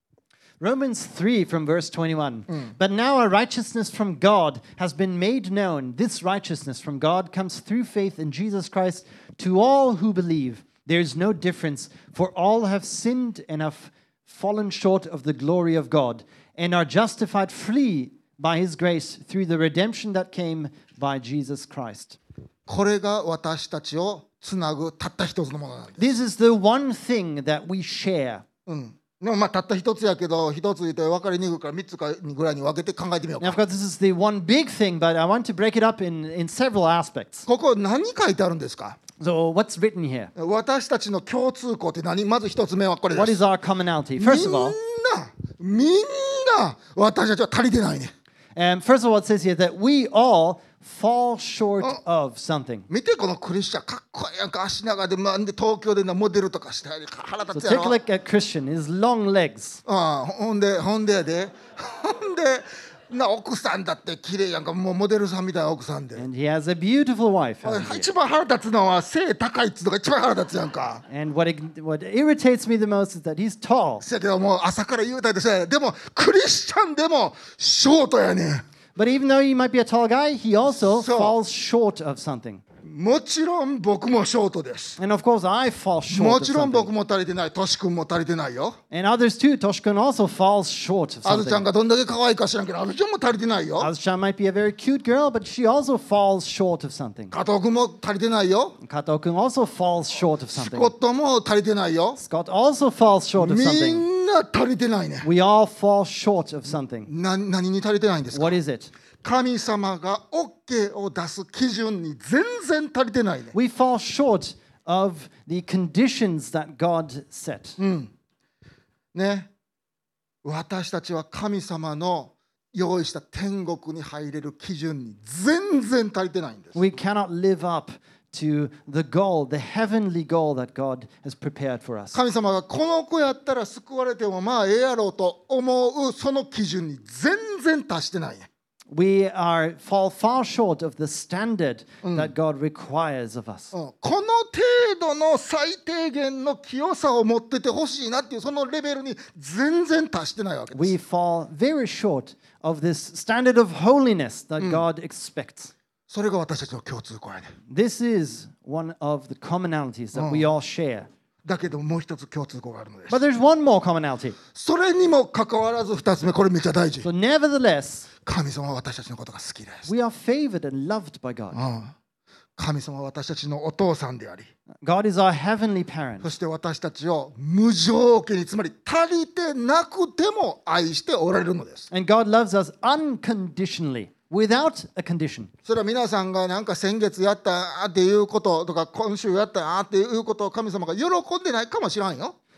Romans three from verse twenty-one. But now a righteousness from God has been made known. This righteousness from God comes through faith in Jesus Christ to all who believe. There is no difference, for all have sinned and have fallen short of the glory of God, and are justified freely by his grace through the redemption that came by Jesus Christ. これが私たちをつなぐたった一つのものなんです。 This is the one thing that we share. うんでもまあたった一つやけど、一つ言って分かりにくいから三つかぐらいに分けて考えてみよう Now, of か。 course, this is the one big thing, but I want to break it up in, in several aspects. ここ何書いてあるんですか？ So, what's written here? 私たちの共通項って何？まず一つ目はこれで What す。 is our commonality? First of all, みんな、みんな私たちは足りてないね。 um, first of all, it says here that we all fall short of something. 見てこのクリスチャンかっこいいやんか足長で、まあ、で東京でなモデルとかして腹 So 立つや take ろ。 a look at Christian, his long legs. ああほんでほんでやでほんでな奥さんだって綺麗やんかもうモデルさんみたいな奥さんで。 And he has a beautiful wife. hasn't he? 一番腹立つのは背高いっつうのが一番腹立つやんか。 And what, it- what irritates me the most is that he's tall. せやけどもう朝から言うたりでしょ。でもクリスチャンでもショートやねん。 But even though he might be a tall guy, he also So- falls short of something. もちろん僕もショートです。 And of course, I fall も short of ちろん something. 僕も足りてない。トシ君も足りてないよ。 And others too. Toshkun also falls short of あずちゃん something. がどんだけ可愛いか知らんけど、あずちゃんも足りてないよ。 Azuchan might be a very cute girl, but she also falls short of something. 加藤君も足りてないよ。 Kato-kun also falls short of ス something. コットも足りてないよ。 Scott also falls short of み something. んな足りてないね。 We all fall short of something. な何に足りてないんですか？ What is it? 神様が OK を出す基準に全然足りてないね。 We fall short of the conditions that God set. ね。私たちは神様の用意した天国に入れる基準に全然足りてないんです。 We cannot live up to the goal, the heavenly goal that God has prepared for us. 神様がこの子やったら救われてもまあええやろうと思うその基準に全然達してないね。 We are fall far short of the standard that God requires of us. うんこの程度の最低限の清さを持っててほしいなっていうそのレベルに全然達してないわけで We す。 fall very short of this standard of holiness that God expects. それが私たちの共通項やね。 This is one of the commonalities that we all share. だけどもう一つ共通項があるのです。 But there's one more commonality. それにもかかわらず二つ目、これめっちゃ大事。 So, nevertheless, 神様は私たちのことが好きです。 we are favored and loved by God. うん神様は私たちのお父さんであり、 God is our heavenly parent. そして私たちを無条件に、つまり足りてなくても愛しておられるのです。 And God loves us unconditionally, without a condition. それは皆さんがなんか先月やったっていうこととか今週やったっていうことを神様が喜んでないかもしれんよ。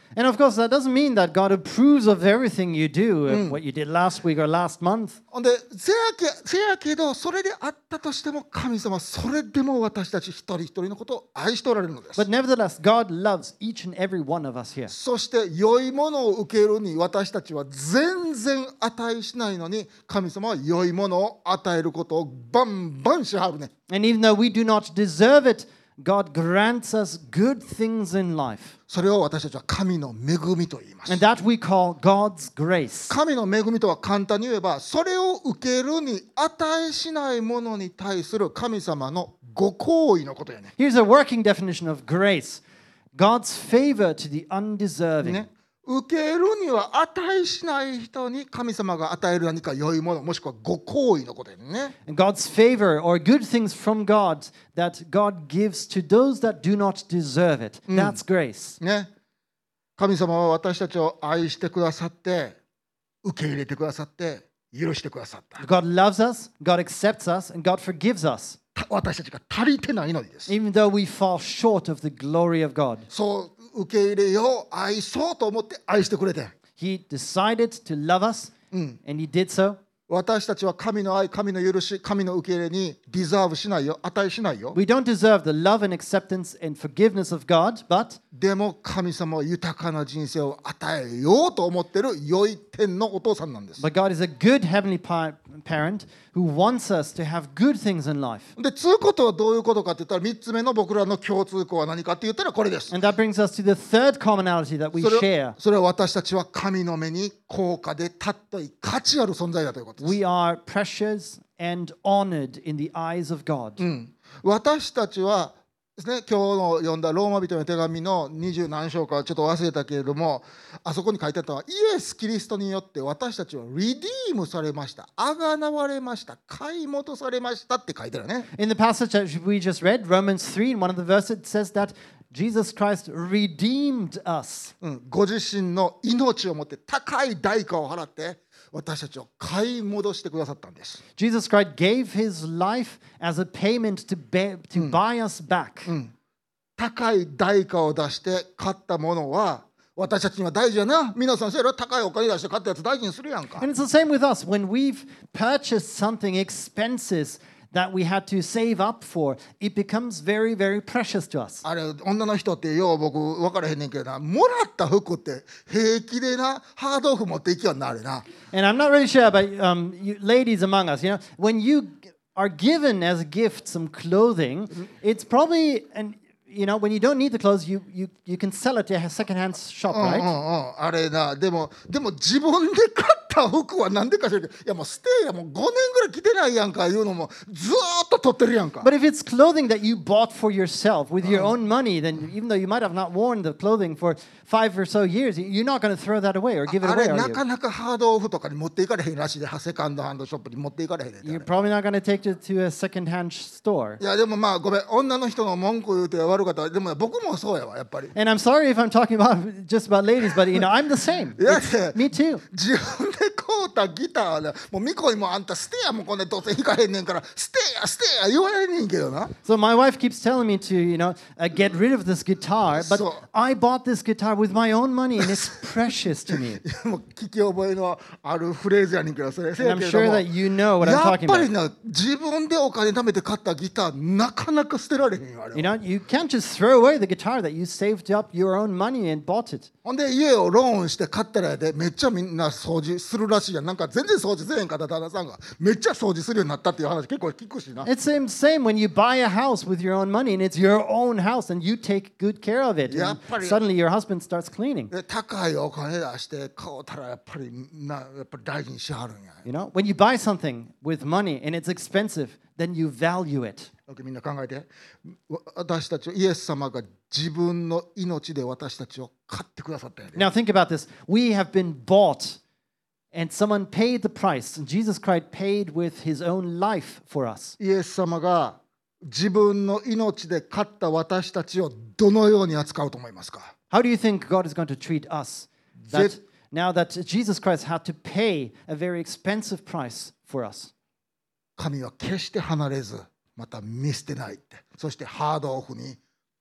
And of course, that doesn't mean that God approves of everything you do, uh, what you did last week or last month. ほんでせやけ、せやけどそれであったとしても神様はそれでも私たち一人一人のことを愛しておられるのです。 But nevertheless, God loves each and every one of us here. そして良いものを受けるに私たちは全然値しないのに神様は良いものを与えることをバンバンしはるね。 And even though we do not deserve it, God grants us good things in life. それを私たちは神の恵みと言います。 And that we call God's grace. 神の恵みとは簡単に言えばそれを受けるに値しないものに対する神様のご好意のことやね。 Here's a working definition of grace. God's favor to the undeserving. ね、受けるには値しない人に神様が与える何か良いものもしくはご好意のことやね。 And God's favor or good things from God that God gives to those that do not deserve it. That's grace. ね、神様は私たちを愛してくださって受け入れてくださって許してくださった。 God loves us, God accepts us, and God forgives us, た私たちが足りてないのにです。 even though we fall short of the glory of God. そう受け入れよう愛そうと思って愛してくれて。 He decided to love us, and He did so. 私たちは神の愛、神の許し、神の受け入れにディザーブしないよ、値しないよ。 We don't deserve the love and acceptance and forgiveness of God, but でも神様は豊かな人生を与えようと思っている良い天のお父さんなんです。 but God is a good heavenly pa- parent who wants us to have good things in life. で、つうことはどういうことかって言ったらみっつめの僕らの共通項は何かって言ったらこれです。 And that brings us to the third commonality that we それ share. それは私たちは神の目に高価で尊い価値ある存在だということです。 We are precious and honored in the eyes of God. 私たちはですね、今日の読んだローマ人の手紙の二十何章かちょっと忘れたけれども、あそこに書いてあったのはイエス・キリストによって私たちはリディームされました、あがなわれました、買い戻されましたって書いてあるね。 In the passage that we just read, Romans three, in one of the verses, it says that Jesus Christ redeemed us. うん、ご自身の命をもって高い代価を払って私たちを買い戻してくださったんです。 Jesus Christ gave his life as a payment to, ba- to buy us back. 高い代価を出して買ったものは私たちには大事やな。皆さんそうやろ、高いお金出して買ったやつ大事にするやんか。 And it's the same with us. When we've purchased something expensive that we had to save up for, it becomes very, very precious to us. あれ女の人ってよう僕分からへんねんけどな、もらった服って平気でなハードオフ持っていきよんなあれな。 And I'm not really sure about um, you ladies among us. You know, when you are given as a gift some clothing, it's probably an you know, when you don't need the clothes, you you you can sell it to a secondhand shop, うんうん right? うん、あれな、でもでも自分で買った服はなんでか知らんけど、いやもうステイやもうごねんぐらい着てないやんかいうのもずーっと取ってるやんか。 But if it's clothing that you bought for yourself with your own money, then even though you might have not worn the clothing for five or so years, you're not going to throw that away or give it あ away, れ are な you? かなかハードオフとかに持っていかれへんらしいで、セカンドハンドショップに持っていかれへんねんてあれ。 You're probably not going to take it to a secondhand store. いやでもまあごめん、女の人の文句言うて悪かった。でも僕もそうやわやっぱり。 And I'm sorry if I'm talking about just about ladies, but you know, I'm the same. いや It's- me too. 自分で買うたギターはもうミコにもあんたステアもこんでどうせ弾かへんねんからステアステア言われねんけどな。 So my wife keeps telling me to, you know, uh, get rid of this guitar, but So- I bought this guitar with my own money and it's precious to me. もう聞き覚えのあるフレーズやねんけどそれせ And や I'm けれど sure も that you know what I'm やっ talking ぱり about. な自分でお金貯めて買ったギターなかなか捨てられへんよあれは。 You know, you can't just throw away the guitar that you saved up your own money and bought it. ほんで家をローンして買ったらやでめっちゃみんな掃除するらしいやん。なんか全然掃除せえへんかった旦那さんがめっちゃ掃除するようになったっていう話結構聞くしな。 It's the same, same when you buy a house with your own money and it's your own house and you take good care of it. And やっぱり- suddenly your husband starts cleaning. で高いお金出して買うたらやっぱりなやっぱり大事にしはるんや。 You know, when you buy something with money and it's expensive, then you value it. みんな考えて、わ私たちイエス様が自分の命で私たちを買ってくださったんやで。 Now think about this. We have been bought and someone paid the price. And Jesus Christ paid with his own life for us. イエス様が自分の命で買った私たちをどのように扱うと思いますか？ How do you think God is going to treat us? That That- now that Jesus Christ had to pay a very expensive price for us. 神は決して離れずまた見捨てないって、そしてハードオフに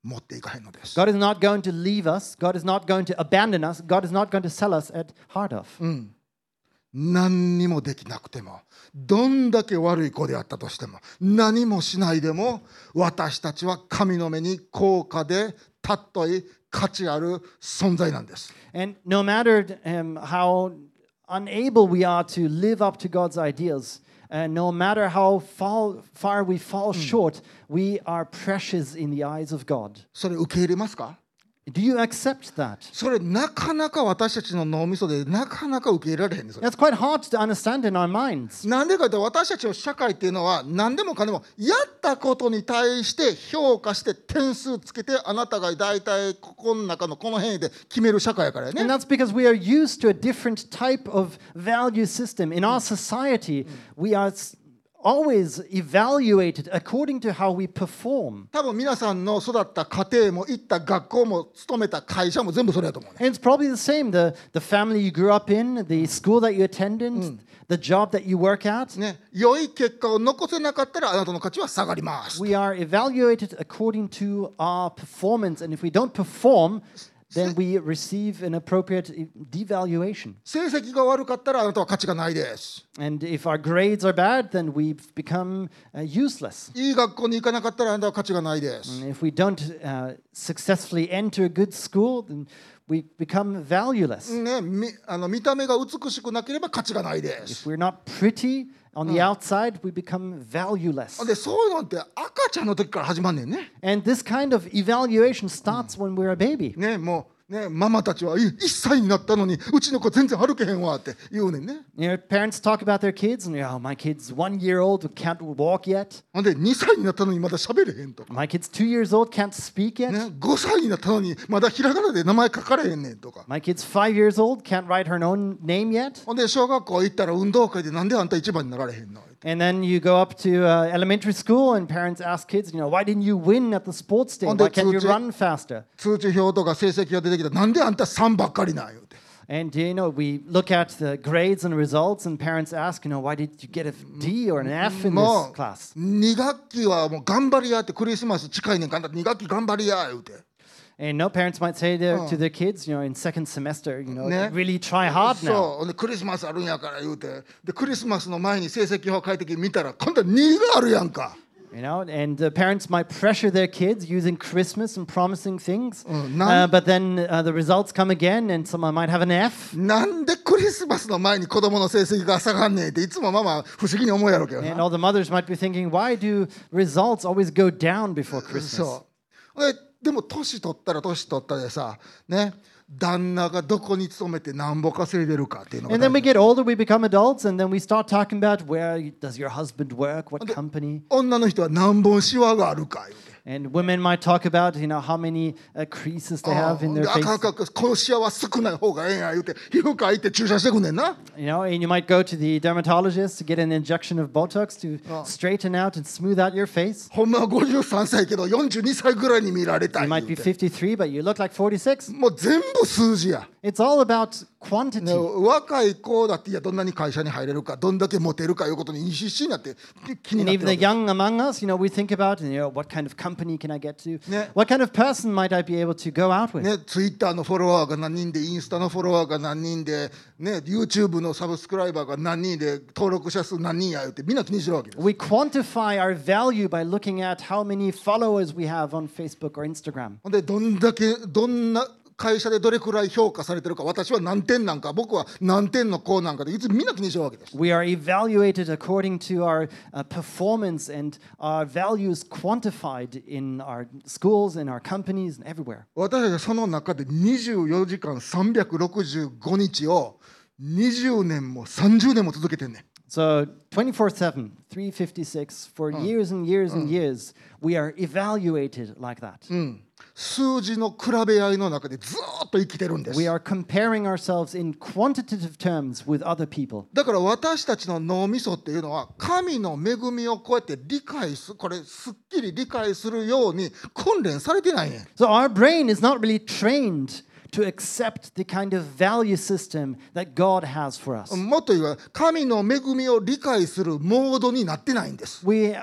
持っていかへんのです。 God is not going to leave us. God is not going to abandon us. God is not going to sell us at heart of. 何にもできなくても、どんだけ悪い子であったとしても、何もしないでも、私たちは神の目に高価で尊い価値ある存在なんです。 And no matter um, how unable we are to live up to God's ideals, and no matter how fall, far we fall short, we are precious in the eyes of God. それ受け入れますか？ Do you accept that? それなかなか私たちの脳みそでなかなか受け入れられへんです。 That's quite hard to understand in our minds. なんでかというと、私たちの社会っていうのは何でもかんでもやったことに対して評価して点数つけて、あなたが大体ここの中のこの辺で決める社会やからね。 And that's because we are used to a different type of value system. In our society, we are s- always evaluated according to how we perform. 多分皆さんの育った家庭も行った学校も勤めた会社も全部それやと思うね。 And it's probably the same. The, the family you grew up in, the school that you attended, the job that you work at. ね、良い結果を残せなかったらあなたの価値は下がります。 We are evaluated according to our performance. And if we don't perform, then we receive an appropriate e- devaluation. 成績が悪かったらあなたは価値がないです。 And if our grades are bad, then we become uh, useless. いい学校に行かなかったらあなたは価値がないです。 And if we don't uh, successfully enter a good school, then we become valueless. ね、みあの見た目が美しくなければ価値がないで If す。 we're not pretty on the outside, we become valueless. で、そういうのって赤ちゃんの時から始まんねんね。 And this kind of evaluation starts when we're a baby. ね、もうね、ママたちはいいっさいになったのにうちの子全然歩けへんわって言うねんね。 You know, parents talk about their kids, and oh, my kid's one year old, can't walk yet. ほんでにさいになったのにまだ喋れへんとか、 My kid's two years old, can't speak yet. ね、ごさいになったのにまだひらがなで名前書かれへんねんとか。 My kid's five years old, can't write her own name yet. ほんで小学校行ったら運動会でなんであんた一番になられへんの？ And then you go up to uh, elementary school, and parents ask kids, you know, why didn't you win at the sports day? On Why the can't you two- run faster? 通知表とか成績が出てきたらなんであんたさんばっかりなん言うて。 And you know, we look at the grades and results, and parents ask, you know, why did you get a D or an F in も this class? うに学期はもう頑張りやって、クリスマス近いねんからに学期頑張りや言うて。 And no parents might say to, Oh. to their kids, you know, in second semester, you know, Ne? really try hard now. そうほんでクリスマスあるんやから言うて、でクリスマスの前に成績表書いてきて見たら今度はにがあるやんか。 You know, and uh, parents might pressure their kids using Christmas and promising things, Mm, uh, none- but then uh, the results come again, and someone might have an F. なんでクリスマスの前に子供の成績が下がんねんっていつもママ不思議に思うやろうけど And な。 all the mothers might be thinking, why do results always go down before Christmas? そうででも年取ったら年取ったでさ、ね、旦那がどこに勤めてなんぼ稼いでるかっていうのが And then 大 we 事。 get older, we become adults, and then we start talking about where does your husband work, what company. 女の人は何本シワがあるか言うて。 And women might talk about, you know, how many uh, creases they あ have in で their あかんあ face. かんあかんこのシワは少ない方がええんや言うて皮膚科行って注射してくんねんな。 You know, and you might go to the dermatologist to get an injection of Botox to straighten out and smooth out your face. ほんまはごじゅうさんさいけどよんじゅうにさいぐらいに見られた You い might 言 be うて。 fifty-three, but you look like forty-six. もう全部数字や。 It's all about ね quantity. 若い子だっていやどんなに会社に入れるかどんだけモテるかいうことに必死になって気に And なって even る the わけ。 young among us, you know, we think about, you know, what kind of company can I get to? Yeah. What kind of person might I be able to go out with? ね、ツイッターのフォロワーが何人でインスタのフォロワーが何人で、ね、YouTube のサブスクライバーが何人で登録者数何人や言ってみんな気にしてるわけです。 We quantify our value by looking at how many followers we have on Facebook or Instagram. ほんでどんだけどんな会社でどれくらい評価されてるか私は何点なんか僕は何点の子なんかでいつみんな気にしてるわけです。 We are evaluated according to our uh, performance, and our values quantified in our schools, in our companies, and everywhere. 私たちはその中でにじゅうよじかんさんびゃくろくじゅうごにちをにじゅうねんもさんじゅうねんも続けてんねん。 So twenty-four seven, three fifty-six, for years and years and years, we are evaluated like that. 数字の比べ合いの中でずーっと生きてるんです。 We are comparing ourselves in quantitative terms with other people. だから私たちの脳みそっていうのは神の恵みをこうやって理解すこれすっきり理解するように訓練されてないねん。 So our brain is not really trained to accept the kind of value system that God has for us. もっと言えば神の恵みを理解するモードになってないんです。 We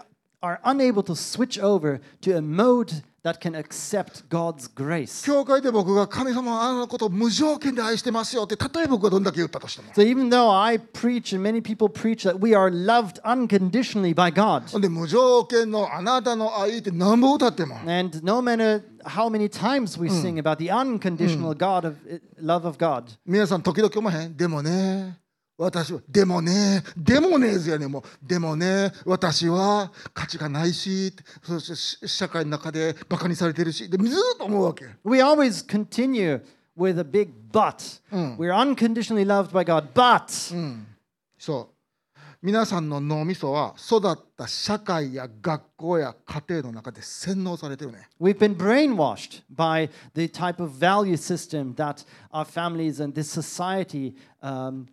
are unable to switch over to a mode that can accept God's grace. 教会で僕が神様はあのことを無条件で愛してますよって、たとえ僕がどんだけ言ったとしても。 So even though I preach and many people preach that we are loved unconditionally by God, ほんで無条件のあなたの愛って何本歌っても、 and no matter how many times we sing about the unconditional God of love of God, 皆さん時々思わへん？でもね、私はでもね、でもねずやね、もうでもね、私は価値がないし、そして社会の中でバカにされてるし、でずっと思うわけ。 we always continue with a big but. We're unconditionally loved by God, but そう皆さんの脳みそは育った社会や学校や家庭の中で洗脳されてるね。 we've been brainwashed by the type of value system that our families and this society um,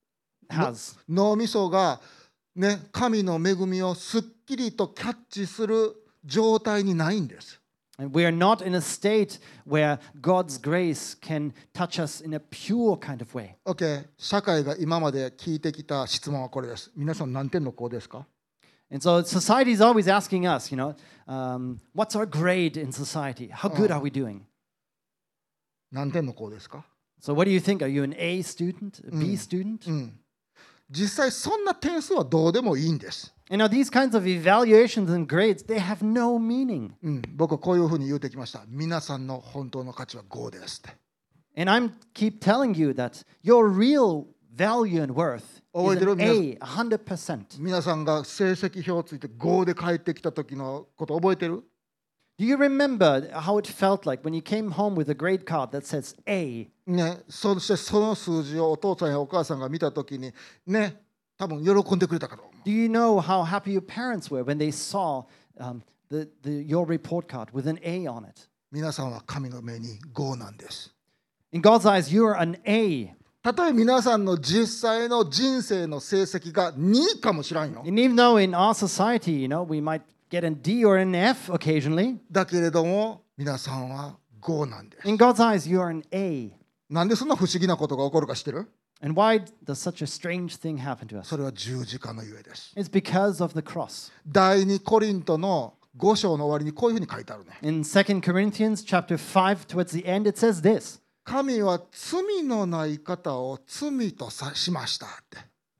has. 脳みそがね、神の恵みをすっきりとキャッチする状態にないんです。 And we are not in a state where God's grace can touch us in a pure kind of way. OK、社会が今まで聞いてきた質問はこれです。皆さん何点の子ですか？ And so society is always asking us, you know, um, what's our grade in society? How good are we doing? 何点の子ですか？ So what do you think? Are you an A student, a B student? 実際そんな点数はどうでもいいんです。 And now these kinds of evaluations and grades, they have no meaning. うん、僕はこういうふうに言うてきました。皆さんの本当の価値はごですって。 And I'm keep telling you that your real value and worth is an A, one hundred percent. 皆さんが成績表ついてごで帰ってきた時のこと覚えてる？ Do you remember how it felt like when you came home with a grade card that says A? ね、そしてその数字をお父さんやお母さんが見た時にね、多分喜んでくれたかと思う。 Do you know how happy your parents were when they saw um, the, the, your report card with an A on it? 皆さんは神の目にごなんです。 In God's eyes, you're an A. たとえ皆さんの実際の人生の成績がにいかもしらんよ。 And even though in our society, you know, we might get an D or an F occasionally, だけれども皆さんはごなんです。 in God's eyes, you're an A. なんでそんな不思議なことが起こるか知ってる？ And why does such a strange thing happen to us? それは十字架のゆえです。 It's because of the cross. 第二コリントのご章の終わりにこういうふうに書いてあるね。 In Second Corinthians chapter five, towards the end, it says this. 神は罪のない方を罪とさしましたって。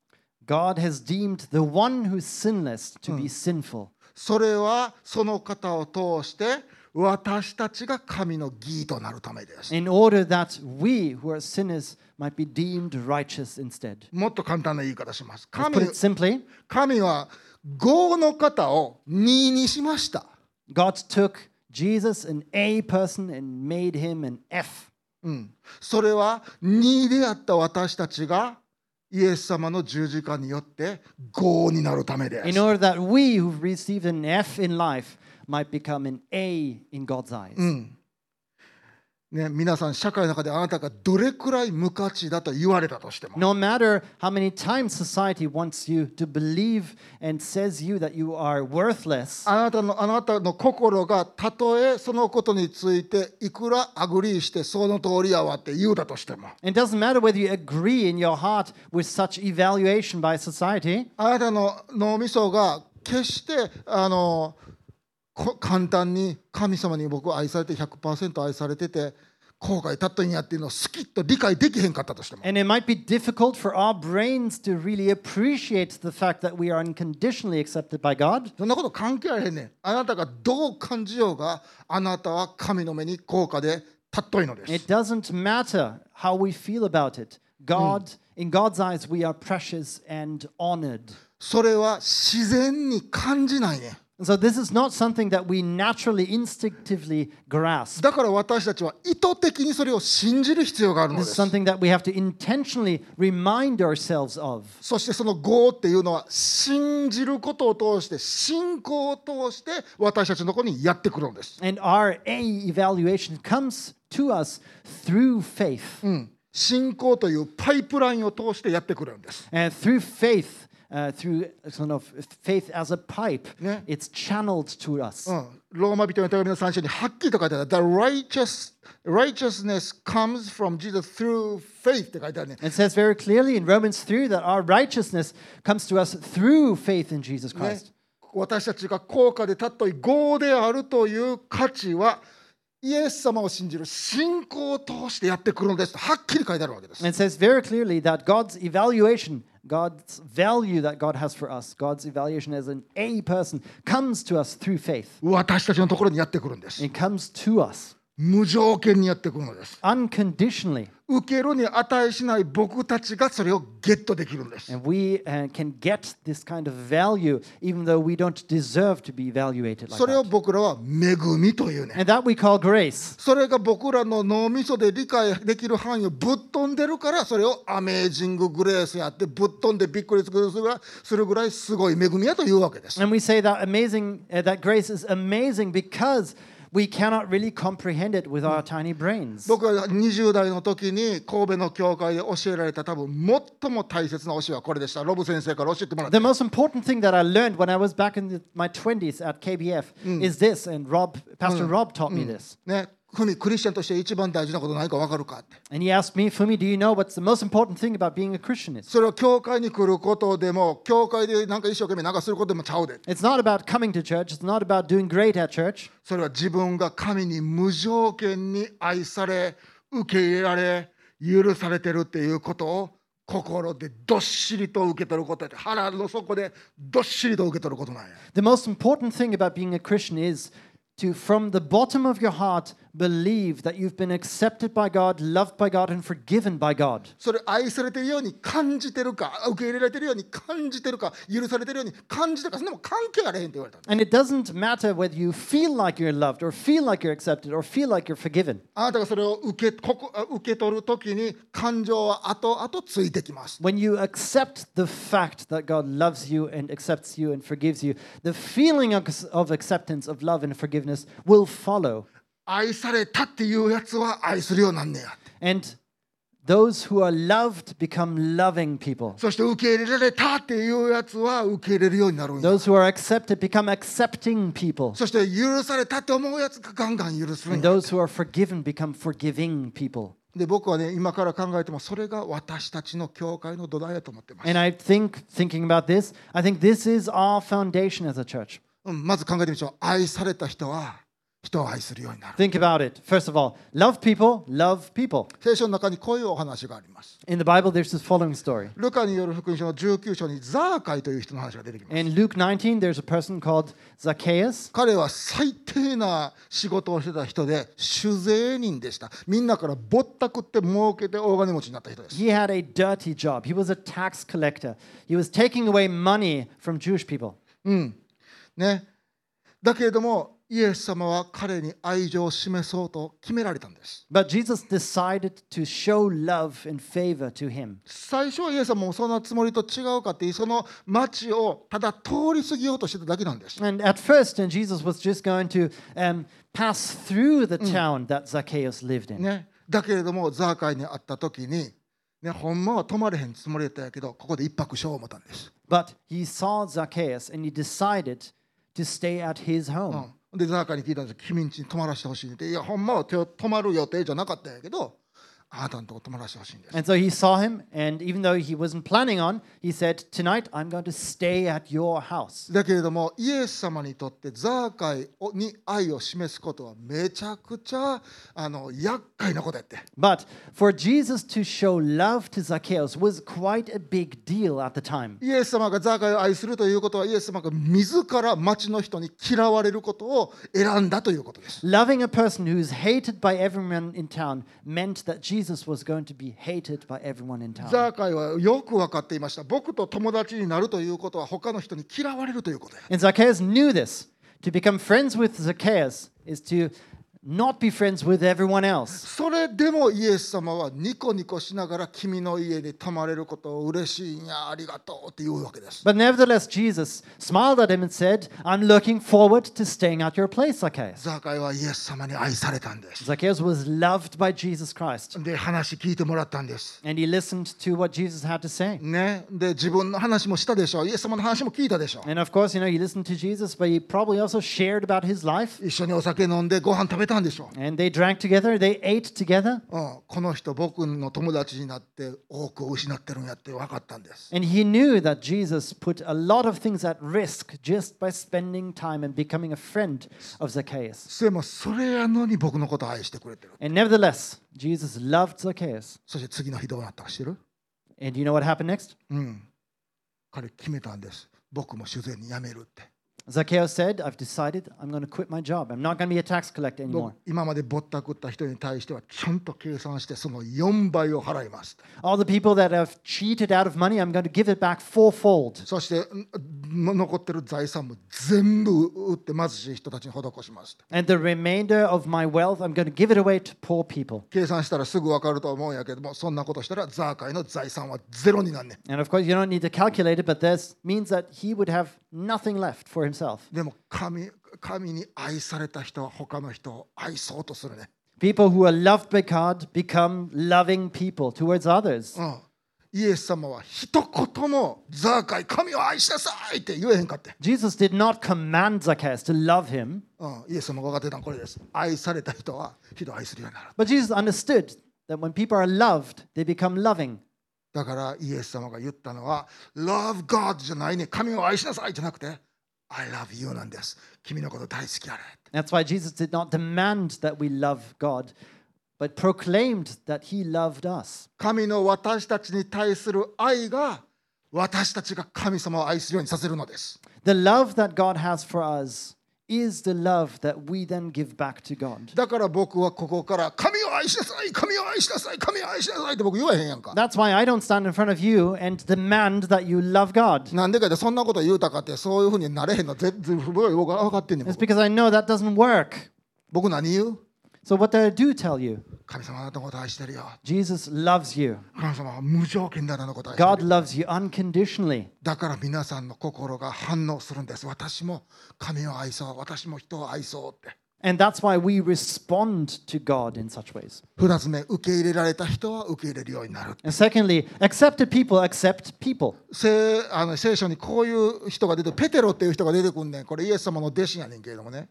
God has deemed the one who's sinless to be sinful. それはその方を通して私たちが神の義となるためです。 In order that we who are sinners might be deemed righteous instead. もっと簡単な言い方します。 Let's 神 put it simply, 神はごの方をににしました。 God took Jesus, an A person, and made him an F. うん、それはにであった私たちがイエス様の十字架によってごになるためです。 In order that we who've received an F in life might become an A in God's eyes. うんね、皆さん社会の中であなたがどれくらい無価値だと言われたとしても、 No matter how many times society wants you to believe and says you that you are worthless, あなたのあなたの心がたとえそのことについていくらアグリーしてその通りやわって言うだとしても、 it doesn't matter whether you agree in your heart with such evaluation by society, あなたの脳みそが決してあのこ簡単に神様に僕は愛されて ひゃくパーセント 愛されてて後悔たっとんやっていうのをスキッと理解できへんかったとしても、 and it might be difficult for our brains to really appreciate the fact that we are unconditionally accepted by God. そんなこと関係あれへんねん。あなたがどう感じようがあなたは神の目に高価で尊いのです。 It doesn't matter how we feel about it. God, in God's eyes, we are precious and honored. それは自然に感じないねん。 So this is not something that we naturally, instinctively grasp. だから私たちは意図的にそれを信じる必要があるの This で is す。 something that we have to intentionally remind ourselves of. そしてその業っていうのは信じることを通して信仰を通して私たちのところにやってくるのです。 And our A evaluation comes to us through faith. うん、信仰というパイプラインを通してやってくるんです。 And through faith, uh, through sort of faith as a pipe, Yeah. it's channeled to us. うん、ローマ人の手紙のさん章にはっきりと書いてある。The righteous, righteousness comes from Jesus through faith って書いてあるね。 It says very clearly in Romans three that our righteousness comes to us through faith in Jesus ね Christ. 私たちが高価で尊い業であるという価値はイエス様を信じる信仰を通してやってくるのですとはっきり書いてあるわけです。 And it says very clearly that God's evaluation, God's value that God has for us, God's evaluation as an A person comes to us through faith. 私たちのところにやってくるんです。 It comes to us 無条件にやってくるのです。 unconditionally. 受けるに値しない僕たちがそれをゲットできるんです。 And we uh, can get this kind of value even though we don't deserve to be evaluated like それを that. 僕らは恵みというね。 And that we call grace. それが僕らの脳みそで理解できる範囲をぶっ飛んでるからそれをアメージンググレースやってぶっ飛んでびっくりするぐらいするぐらいすごい恵みやというわけです。 And we say that amazing, uh, that grace is amazing because we cannot really comprehend it with our tiny brains. 僕はにじゅう代の時に神戸の教会で教えられた多分最も大切な教えはこれでした。ロブ先生から教えてもらった。 The most important thing that I learned when I was back in the, my twenties at K B F is this, and Rob, Pastor Rob taught me this. ね、ふみクリスチャンとして一番大事なこと何か分かるかって。 And he asked me, Fumi, do you know what's the most important thing about being a Christian is? それは教会に来ることでも教会でなんか一生懸命なんかすることでもちゃうで。 It's not about coming to church. It's not about doing great at church. それは自分が神に無条件に愛され受け入れられ許されてるっていうことを心でどっしりと受け取ることで腹の底でどっしりと受け取ることなんや。 The most important thing about being a Christian is to, from the bottom of your heart, believe that you've been accepted by God, loved by God, and forgiven by God. それ愛されてるように感じてるか受け入れられてるように感じてるか許されてるように感じてるかそんなもん関係あれへんって言われた。 And it doesn't matter whether you feel like you're loved or feel like you're accepted or feel like you're forgiven. あなたがそれを受け、ここ受け取るときに感情は後々ついてきます。 When you accept the fact that God loves you and accepts you and forgives you, the feeling of, of acceptance, of love and forgiveness will follow. 愛されたっていうやつは愛するようになんねや。 And those who are loved become loving people. そして受け入れられたっていうやつは受け入れるようになるんや。 Those who are accepted become accepting people. そして許されたって思うやつがガンガン許すん And や。 those who are forgiven become forgiving people. で僕はね今から考えてもそれが私たちの教会の土台だと思ってます。 And I think, thinking about this, I think this is our foundation as a church. うんまず考えてみましょう。愛された人は人を愛するようになる。 Think about it. First of all, love people, love people. 聖書の中にこういうお話があります。 In the Bible, there's this following story. ルカによる福音書のじゅうきゅう章にザーカイという人の話が出てきます。 In Luke nineteen, there's a person called Zacchaeus. 彼は最低な仕事をしてた人で酒税人でした。みんなからぼったくって儲けて大金持ちになった人です。 He had a dirty job. He was a tax collector. He was taking away money from Jewish people. うんね、だけれどもイエス様は彼に愛情を示そうと決められたんです。 But Jesus decided to show love and favor to him. 最初はイエス様もそのつもりと違うかってその町をただ通り過ぎようとしてただけなんです。 And at first, and Jesus was just going to um, pass through the town that Zacchaeus lived in. ね、だけれどもザーカイに会った時に、ね、ほんまは泊まれへんつもりだったんやけどここで一泊しよう思ったんです。 But he saw Zacchaeus and he decided to stay at his home. うん、でザーカイに聞いたんです。君ん家に泊まらせてほしいって。いやほんまは泊まる予定じゃなかったんやけどあなたのとこ泊まらせてほしいんです。 And so he saw him, and even though he wasn't planning on, he said, "Tonight I'm going to stay at your house." だけれどもイエス様にとってザーカイに愛を示すことはめちゃくちゃあの厄介なことやって。 But for Jesus to show love to Zacchaeus was quite a big deal at the time. イエス様がザーカイを愛するということはイエス様が自ら町の人に嫌われることを選んだということです。 Loving a person who's hated by everyone in town meant that Jesus was going to be hated by everyone in ザ town. ーカイはよく分かっていました。僕と友達になるということは他の人に嫌われるということや。 And Zacchaeus knew this. To become friends with Zacchaeus is to not be friends with everyone else. それでもイエス様はニコニコしながら君の家に泊まれることを嬉しいんやありがとうって言うわけです。 But nevertheless, Jesus smiled at him and said, "I'm looking forward to staying at your place, Zacchaeus." ザーカイはイエス様に愛されたんです。 Zacchaeus was loved by Jesus Christ, で話聞いてもらったんです。 and he listened to what Jesus had to say. ね、で自分の話もしたでしょう。イエス様の話も聞いたでしょう。 And of course, you know, he listened to Jesus, but he probably also shared about his life. 一緒にお酒飲んでご飯食べたたんでしょう。 And they drank together, they ate together. うん、この人僕の友達になって多くを失ってるんやって分かったんです。 And he knew that Jesus put a lot of things at risk just by spending time and becoming a friend of Zacchaeus. でもそれやのに僕のことを愛してくれてる。 And nevertheless, Jesus loved Zacchaeus. そして次の日どうなったか知ってる？ And you know what happened next? うん。彼決めたんです。僕も主税に辞めるって。 Zacchaeus said, I've decided I'm going to quit my job. I'm not going to be a tax collector 僕 anymore. 今までぼったくった人に対してはちゃんと計算してそのよんばいを払います。 All the people that have cheated out of money, I'm going to give it back fourfold. そしてん残ってる財産も全部売って貧しい人たちに施します。 And the remainder of my wealth, I'm going to give it away to poor people. 計算したらすぐ分かると思うんやけども、そんなことしたらザーカイの財産はゼロになんねん。 And of course, you don't need to calculate it, but this means that he would have nothing left for himself. でも神、神に愛された人は他の人を愛そうとするね。 People who are loved by God become loving people towards others. うん、イエス様は一言もザーカイ神を愛しなさいって言えへんかって。 Jesus did not command Zacchaeus to love him, うん、イエス様が分かってたのはこれです。愛された人は人を愛するようになる。 but Jesus understood that when people are loved, they become loving. だからイエス様が言ったのは Love God じゃないね。神を愛しなさいじゃなくて I love you なんです。君のこと大好きやれ。 That's why Jesus did not demand that we love God, but proclaimed that he loved us. 神の私たちに対する愛が私たちが神様を愛するようにさせるのです。 The love that God has for us is the love that we then give back to God. だから僕はここから神を愛しなさい、神を愛しなさい、神を愛しなさいって僕言わへんやんか。 That's why I don't stand in front of you and demand that you love God. なんでかってそんなこと言うたかってそういうふうになれへんの全然僕は分かってんねん。 It's 僕 because I know that doesn't work. 僕何言う？ So what do I do tell you? 神様あなたのこと愛してるよ。 Jesus loves you. 神様は無条件であなたのこと愛してる God よ。 loves you unconditionally. だから皆さんの心が反応するんです。私も神を愛そう、私も人を愛そうって。 And that's why we respond to God in such ways. 二つ目、受け入れられた人は受け入れるようになる。 And secondly, accepted people accept people. 聖あの聖書にこういう人が出て、ペテロっていう人が出てくんねん。これイエス様の弟子やねんけれどもね。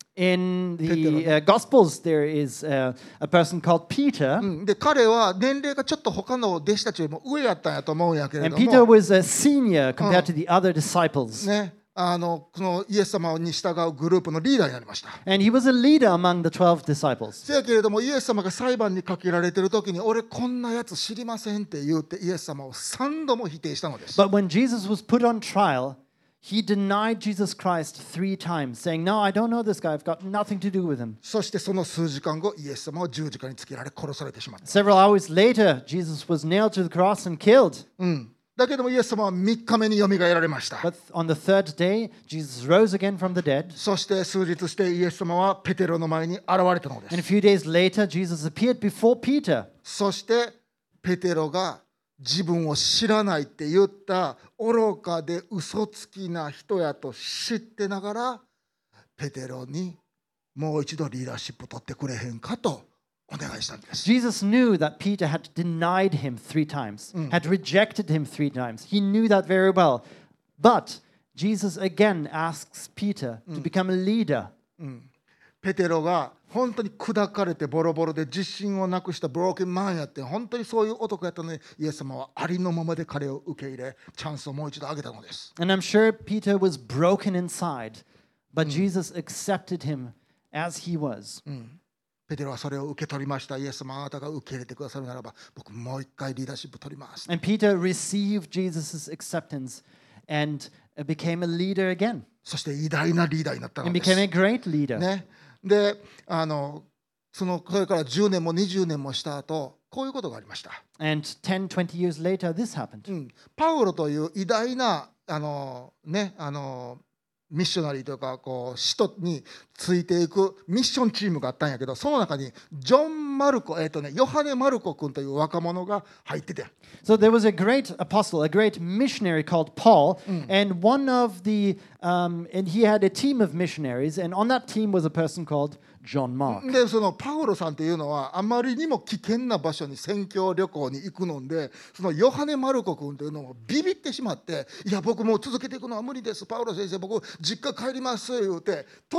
In the uh, Gospels, there is uh, a person called Peter. うんで彼は年齢がちょっと他の弟子たちよりも上やったんやと思うんやけれ And ど Peter も、 was a senior compared to the other disciples. ね、あのこのイエス様に従うグループのリーダーになりました。 And he was a leader among the twelve disciples. せやけれどもイエス様が裁判にかけられてる時に俺こんなやつ知りませんって言ってイエス様を三度も否定したのです。 But when Jesus was put on trial, he denied Jesus Christ three times, saying, No, I don't know this guy. I've got nothing to do with him. そしてその数時間後イエス様は十字架につけられ殺されてしまった。 Several hours later, Jesus was nailed to the cross and killed. うんだけどもイエス様は三日目によみがえられました。 But on the third day, Jesus rose again from the dead. そして数日してイエス様はペテロの前に現れたので And a す。 few days later, Jesus appeared before Peter. そしてペテロが自分を知らないって言った愚かで嘘つきな人やと知ってながらペテロにもう一度リーダーシップ取ってくれへんかとお願いしたんです。 Jesus knew that Peter had denied him three times, had rejected him three times. He knew that very well. But Jesus again asks Peter to become a leader. ペテロが本当に砕かれてボロボロで自信をなくしたブローケンマンやって本当にそういう男やったのにイエス様はありのままで彼を受け入れチャンスをもう一度あげたのです。 And I'm sure Peter was broken inside, but Jesus accepted him as he was. ペテロはそれを受け取りました。イエス様あなたが受け入れてくださるならば僕もう一回リーダーシップ取ります。 And Peter received Jesus' acceptance and became a leader again そして偉大なリーダーになったの and です。 became a great leader. ね、であのそのそれからじゅうねんもにじゅうねんもした後こういうことがありました。 And ten, twenty years later, this happened. うん、パウロという偉大なあの、ね、あのミッショナリーというかこう使徒についていくミッションチームがあったんやけどその中にジョン・マルコ、えーとね、ヨハネ・マルコ君という若者が入ってて So there was a great apostle, a great missionary called Paul, and one of the, um, and he had a team of missionaries, and on that team was a person called John Mark. でそのパウロさんっていうのはあまりにも危険な場所に宣教旅行に行くのでそのヨハネ・マルコ君というのもビビってしまっていや僕もう続けていくのは無理ですパウロ先生僕実家帰ります言うて途中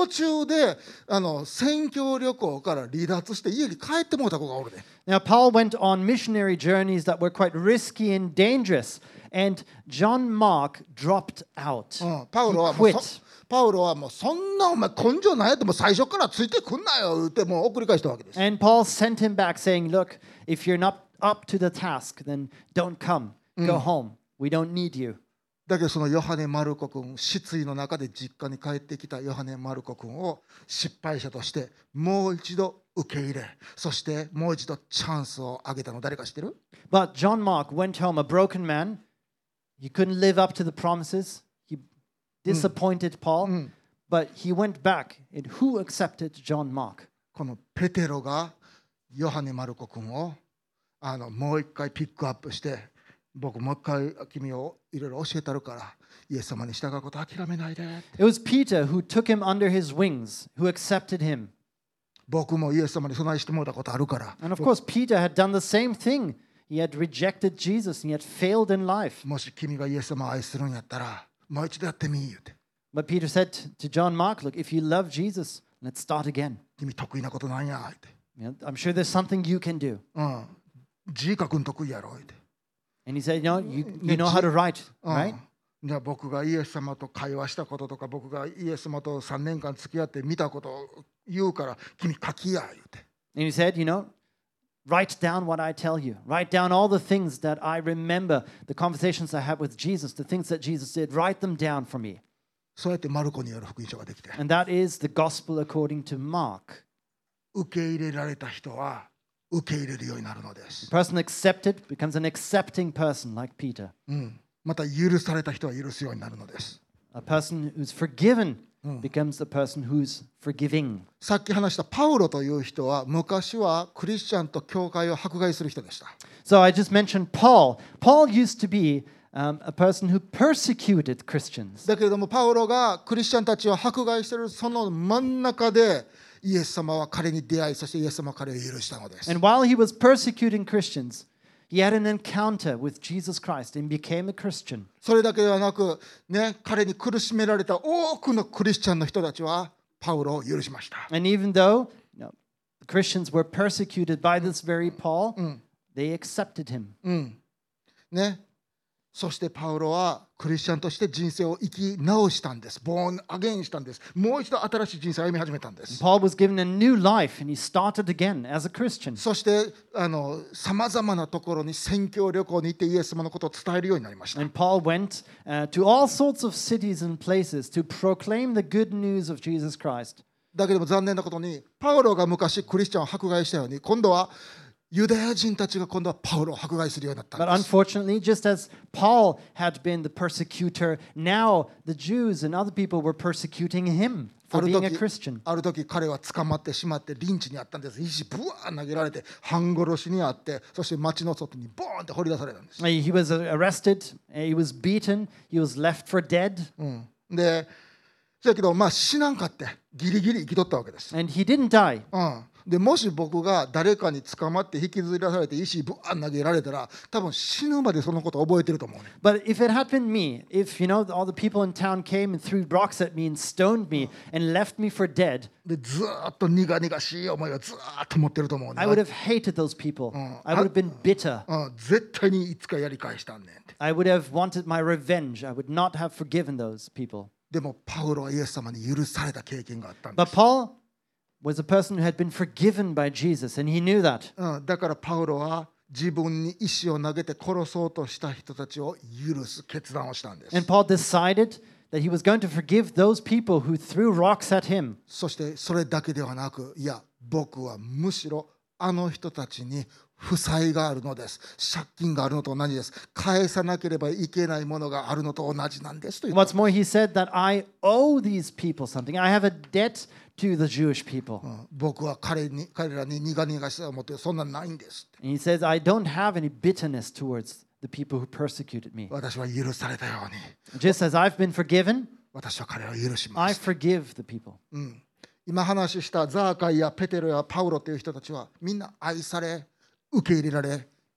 こであの宣教旅行から離脱して家に帰ってもうた子がおるで。 Now, Paul went on missionary journeys that were quite risky and dangerous, and John Mark dropped out. うん、パウロは He もう quit. そパウロはもうそんなお前根性ないやってもう最初からついてくんなよ言ってもう送り返したわけです。 And Paul sent him back saying, look, if you're not up to the task, then don't come. Go home. We don't need you. だけどそのヨハネ・マルコ君、失意の中で実家に帰ってきたヨハネ・マルコ君を失敗者としてもう一度受け入れ、そしてもう一度チャンスをあげたの誰か知ってる？ But John Mark went home a broken man. He couldn't live up to the promises. He disappointed Paul. But he went back. And who accepted John Mark? このペテロがヨハネ・マルコ君をあのもう一回ピックアップして、僕もう一回君をいろいろ教えたるからイエス様に従うこと諦めないで。 It was Peter who took him under his wings, who accepted him. 僕もイエス様に備えしてもらったことあるから。 And of course, Peter had done the same thing. He had rejected Jesus and he had failed in life. もし君がイエス様を愛するんやったらもう一度やってみ言うて。 But Peter said to John Mark, look, if you love Jesus, let's start again. 君得意なことなんやって。 You know, I'm sure there's something you can do. うん。字書くん得意やろって。 And he said, you know, you, you know how to write, うん right? じゃあ僕がイエス様と会話したこととか僕がイエス様とさんねんかん付き合って見たことを言うから君書きや言うて。 And he said, you know, write down what I tell you. Write down all the things that I remember, the conversations I had with Jesus, the things that Jesus did. Write them down for me. そうやってマルコによる福音書ができて。 And that is the gospel according to Mark. 受け入れられた人は受け入れるようになるので The す。 person accepted becomes an accepting person like Peter. うん。また許された人は許すようになるのです。 A person who's forgiven becomes the person who's forgiving. さっき話したパウロという人は昔はクリスチャンと教会を迫害する人でした。 So I just mentioned Paul. Paul used to be um, a person who persecuted Christians. だけれどもパウロがクリスチャンたちを迫害しているその真ん中でイエス様は彼に出会い、そしてイエス様は彼を許したのです。 And while he was persecuting Christians, he had an encounter with Jesus Christ and became a Christian. それだけではなく、ね、彼に苦しめられた多くのクリスチャンの人たちはパウロを許しました。 And even though you know, the Christians were persecuted by this very Paul, they accepted him. うんね、そしてパウロはクリスチャンとして人生を生き直したんです。ボーンアゲインしたんです。もう一度新しい人生を歩み始めたんです。 Paul was given a new life and he started again as a Christian. そしてさまざまなところに宣教旅行に行ってイエス様のことを伝えるようになりました。 And Paul went uh, to all sorts of cities and places to proclaim the good news of Jesus Christ. だけども残念なことにパウロが昔クリスチャンを迫害したように今度はユダヤ人たちが今度はパウロを迫害するようになったん But です。 unfortunately, just as Paul had been the persecutor, now the Jews and other people were persecuting him あ for る being a 時 Christian. ある時彼は捕まってしまってリンチにあったんです。石ブワー投げられて半殺しにあって、そして町の外にボーンって掘り出されたんです。 He was arrested, he was beaten, he was left for dead, うん、で、そやけどまあ死なんかってギリギリ生きとったわけです。 and he didn't die. うんでもし僕が誰かに捕まって引きずり出されて石ぶわー投げられたら多分死ぬまでそのことを覚えてると思うね。 But if it had been me, if you know all the people in town came and threw rocks at me and stoned me and left me for dead, でずーっと苦々しい思いをずーっと持ってると思うね。 I would have hated those people. I would have been bitter. うん、絶対にいつかやり返したんねんって。 I would have wanted my revenge. I would not have forgiven those people. でもパウロはイエス様に許された経験があったんで But す。 Paul was a person who had been forgiven by Jesus, and he knew that. うん、だからパウロは自分に石を投げて殺そうとした人たちを許す決断をしたんです。 And Paul decided that he was going to forgive those people who threw rocks at him. そしてそれだけではなく、いや、僕はむしろあの人たちに負債があるのです。借金があるのと同じです。返さなければいけないものがあるのと同じなんですと言った。 What's more, he said that I owe these people something. I have a debt to the Jewish people. うん僕は彼に彼らに苦々しさを持ってそんなんないんです。 And he says, I don't have any bitterness towards the people who persecuted me. 私は許されたように、 Just as I've been forgiven, 私は彼らを許しま I す。 forgive the people. うん今話したザーカイやペテロやパウロという人たちはみんな愛され、受け入れられ、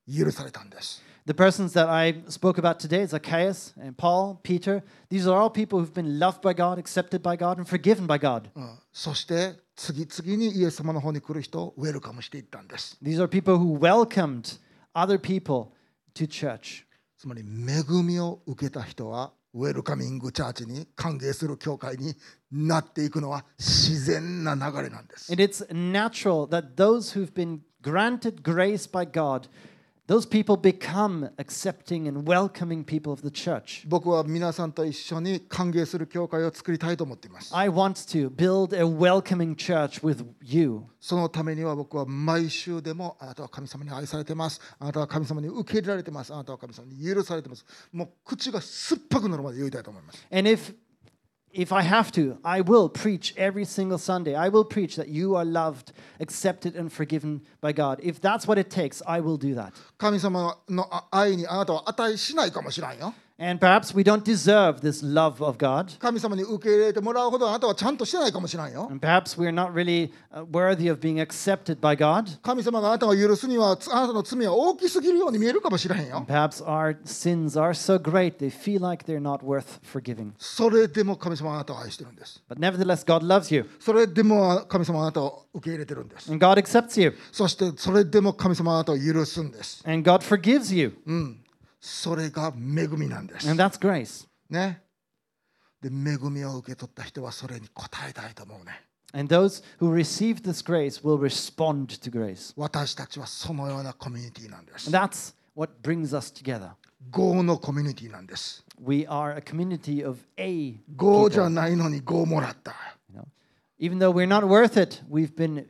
許されたんです。 The persons that I spoke about today, Zacchaeus and Paul, Peter, these are all people who've been loved by God, accepted by God, and forgiven by God. うん、そして次々にイエス様の方に来る人をウェルカムしていったんです。 These are people who welcomed other people to church. つまり恵みを受けた人はウェルカミングチャーチに歓迎する教会になっていくのは自然な流れなんです。 And it's natural that those who've been granted grace by God, those people become accepting and welcoming people of the church. 僕は皆さんと一緒に歓迎する教会を作りたいと思っています。 I want to build a welcoming church with you. そのためには僕は毎週でもあなたは神様に愛されてます。あなたは神様に受け入れられてます。あなたは神様に許されてます。もう口が酸っぱくなるまで言いたいと思います。 And if If I have to, I will preach every single Sunday. I will preach that you are loved, accepted, and forgiven by God. If that's what it takes, I will do that. 神様の愛にあなたは値しないかもしれんよ。 And perhaps we don't deserve this love of God. 神様に受け入れてもらうほどあなたはちゃんとしてないかもしれんよ。 And perhaps we're not really uh, worthy of being accepted by God. 神様があなたを許すにはあなたの罪は大きすぎるように見えるかもしれへんよ。 And perhaps our sins are so great they feel like they're not worth forgiving. それでも神様はあなたを愛してるんです。 But nevertheless, God loves you. それでも神様はあなたを受け入れてるんです。 And God accepts you. そしてそれでも神様はあなたを許すんです。 And God forgives you. うんそれが恵みなんです。 And that's grace. ね。で、恵みを受け取った人はそれに応えたいと思うね。 And those who receive this grace will respond to grace. 私たちはそのようなコミュニティなんです。 And that's what brings us together. Go のコミュニティなんです。 We are a community of A Go じゃ people. ないのに Go もらった。 You know? Even though we're not worth it, we've been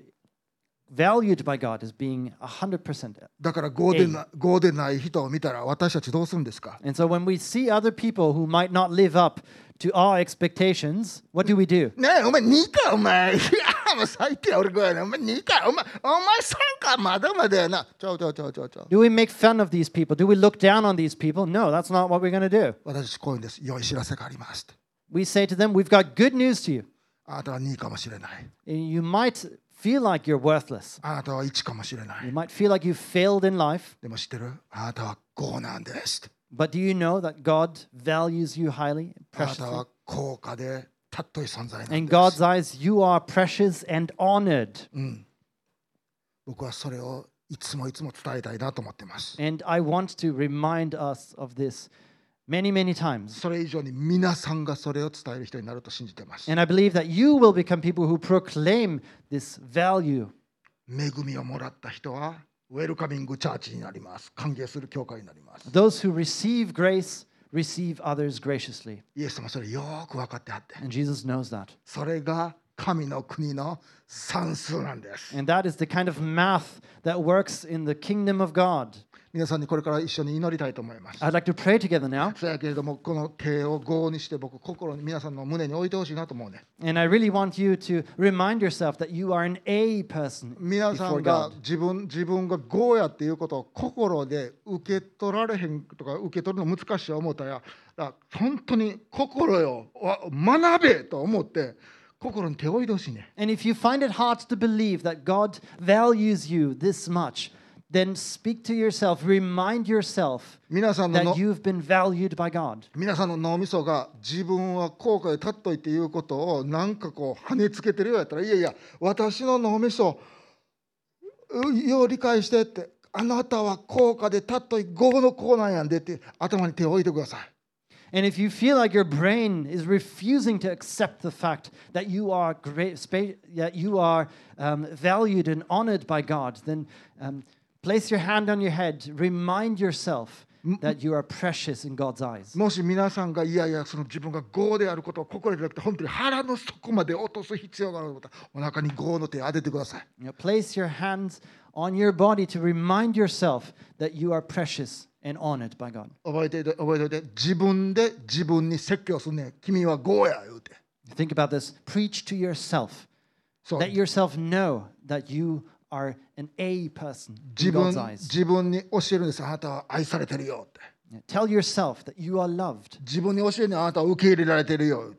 valued by God as being one hundred percent. だから Go でな、Go でない人を見たら私たちどうするんですか？ And so when we see other people who might not live up to our expectations, what do we do? ねえ、お前にかお前。いや、もう最低俺こうやね。お前にかお前、お前さんかまだまだやな。ちょちょちょちょちょ。 Do we make fun of these people? Do we look down on these people? No, that's not what we're going to do. 私たちこういうんです。良い知らせがあります。 We say to them, we've got good news to you. あなたはにかもしれない。 You might feel like you're worthless. あなたはいちかもしれな You い。 might feel like you failed in life. でも知ってる？あなたはごなんです。 But do you know that God values you highly, あなた preciously? は高価で尊い存在なん In で God's す。 eyes, you are precious and honored. 僕はそれをいつもいつも伝えたいなと思っています。 And I want to remind us of this many, many times. それ以上に皆さんがそれを伝える人になると信じています。 And I believe that you will become people who proclaim this value. 恵みをもらった人はウェルカミングチャーチになります。歓迎する教会になります。 Those who receive grace receive others graciously. イエス様それよく分かってはって。 And Jesus knows that. それが神の国の算数なんです。 And that is the kind of math that works in the kingdom of God. 皆さんにこれから一緒に祈りたいと思います。 I'd like to pray together now. そうやけれどもこの手を合にして僕心に皆さんの胸に置いてほしいなと思うね。 And I really want you to remind yourself that you are an A person 皆さ before んが God. 自分自分が合やっていうことを心で受け取られへんとか受け取るの難しい思ったらら本当に心よわ学べと思って心に手を置いてほしいね。 And if you find it hard to believe that God values you this much, then speak to yourself, remind yourself 皆さんの that の you've been valued by God. 皆さんの脳みそが自分は後悔で立っといていうことをなんかこう跳ねつけてるようやったらいやいや私の脳みそよう理解してってあなたは高価で立っとい合のこうなんやんでって頭に手を置いてください。 And if you feel like your brain is refusing to accept the fact that you are great, spa- that you are um, valued and honored by God, then um, place your hand on your head. Remind yourself that you are precious in God's eyes. もし皆さんがいやいやその自分が業であることを心でなくて本当に腹の底まで落とす必要があることお腹に業の手を当ててください。 You know, place your hands on your body to remind yourself that you are precious and honored by God. 覚えておいて覚えておいて自分で自分に説教すんねん。君は業や言うて。 Think about this. Preach to yourself. そう Let yourself know that you are an A person 自 in 分 God's eyes. 自分に教えるんです。あなたは愛されてるよって。 Tell yourself that you are loved. 自分に教えるのはあなたは受け入れられてるよって。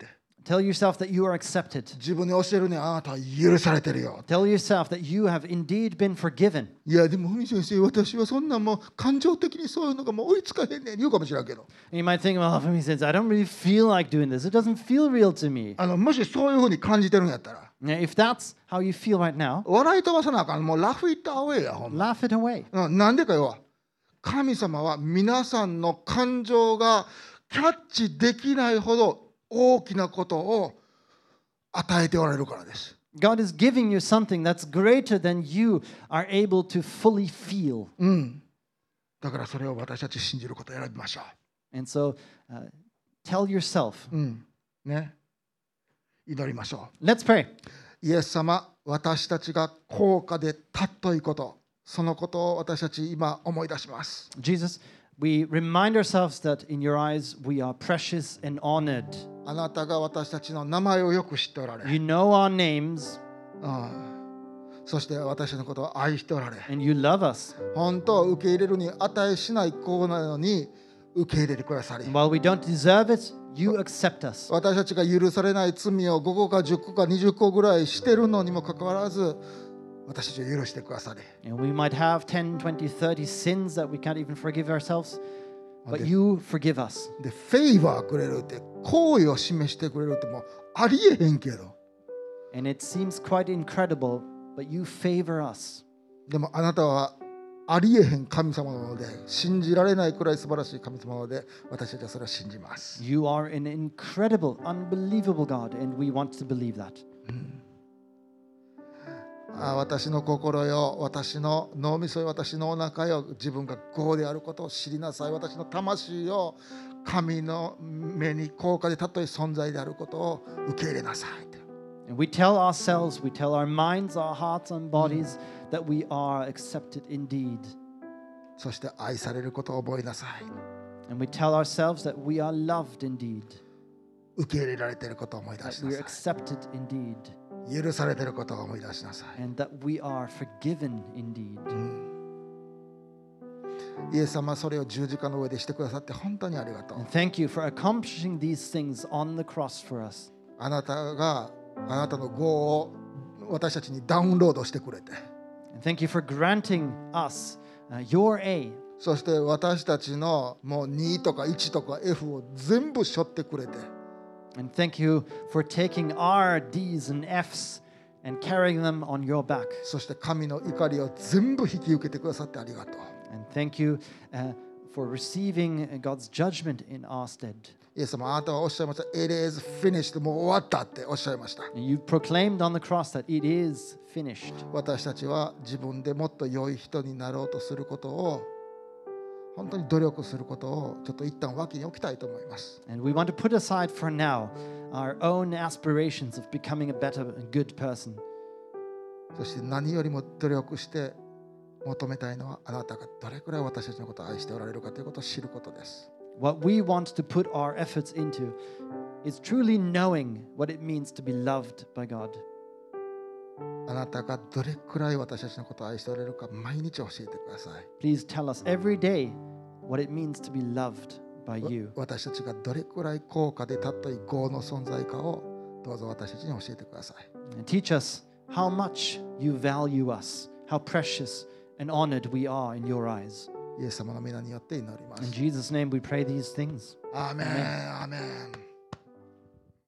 Tell yourself that you are accepted. 自分に教えるね、あなたは許されてるよ。 Tell yourself that you have indeed been forgiven. いやでも文先生、私はそんなもう感情的にそういうのがもう追いつかへんねん言うかもしれんけど、 And you might think, well, Fumi says, I don't really feel like doing this. It doesn't feel real to me. あのもしそういうふうに感じてるんやったら、 Now, if that's how you feel right now, 笑い飛ばさなあかん。もうラフイットアウェイやほんま。 laugh it away. うんなんでかよ、神様は皆さんの感情がキャッチできないほど大きなことを与えておられるからです。 God is giving you something that's greater than you are able to fully feel. うん。だからそれを私たち信じることを選びましょ And so, uh, tell yourself. う。うん。ね。祈りましょ Let's pray. う。イエス様、私たちが高価で尊いこと、そのことを私たち今思い出します。 Jesus, we remind ourselves that in your eyes we are precious and honored. あなたが私たちの名前をよく知っておられ、 You know our names うん、そして私のことを愛しておられ、 and you love us. 本当は受け入れるに値しない子なのに受け入れてくださり、 And while we don't deserve it, you accept us. 私たちが許されない罪をごこかじゅっこかにじゅっこぐらいしてるのにもかかわらず、私たちを許してくださり、 And we might have ten, twenty, thirty sins that we can't even forgive ourselves, but Okay. you forgive us. でフェイバーくれるって好意を示してくれるってもうありえへんけど、 And it seems quite incredible, but you favor us. でもあなたはありえへん神様なので、信じられないくらい素晴らしい神様なので、私たちはそれを信じます。 You are an incredible, unbelievable God, and we want to believe that. あ私の心よ、私の脳みそよ、私のお腹よ、自分が業であることを知りなさい。私の魂よ、神の目に高価で尊い存在であることを受け入れなさい。 And we tell ourselves, we tell our minds, our hearts, and bodies that we are accepted indeed. そして愛されることを覚えなさい。 And we tell ourselves that we are loved indeed, 受け入れられていることを思い出 that しな we さ are accepted indeed, い。許されていることを思い出しなさい。 and that we are forgiven indeed. イエス様はそれを十字架の上でしてくださって本当にありがとう。 And thank you for accomplishing these things on the cross for us. あなたがあなたの業を私たちにダウンロードしてくれて、 And thank you for granting us uh, your A. そして私たちのもうにとかいちとか F を全部背負ってくれて、 And thank you for taking our D's and F's and carrying them on your back. そして神の怒りを全部引き受けてくださってありがとう。 And thank you uh, for receiving God's judgment in our stead. イエス様、あなたはおっしゃいました。It is finished。もう終わったっておっしゃいました。 And you proclaimed on the cross that it is finished. 私たちは自分でもっと良い人になろうとすることを、本当に努力することをちょっと一旦脇に置きたいと思います。 And we want to put aside for now our own aspirations of becoming a better and good person. そして何よりも努力して求めたいのは、あなたがどれくらい私たちのことを愛しておられるかということを知ることです。 What we want to put our efforts into is truly knowing what it means to be loved by God. あなたがどれくらい私たちのことを愛しておられるか毎日教えてください。 Please tell us every day what it means to be loved by you. 私たちがどれくらい高価で尊い業の存在かをどうぞ私たちに教えてください。 And teach us how much you value us, how precious and honored we are in your eyes. イエス様の皆によって祈りま In す。 Jesus' name we pray these things. アーメン、アーメン。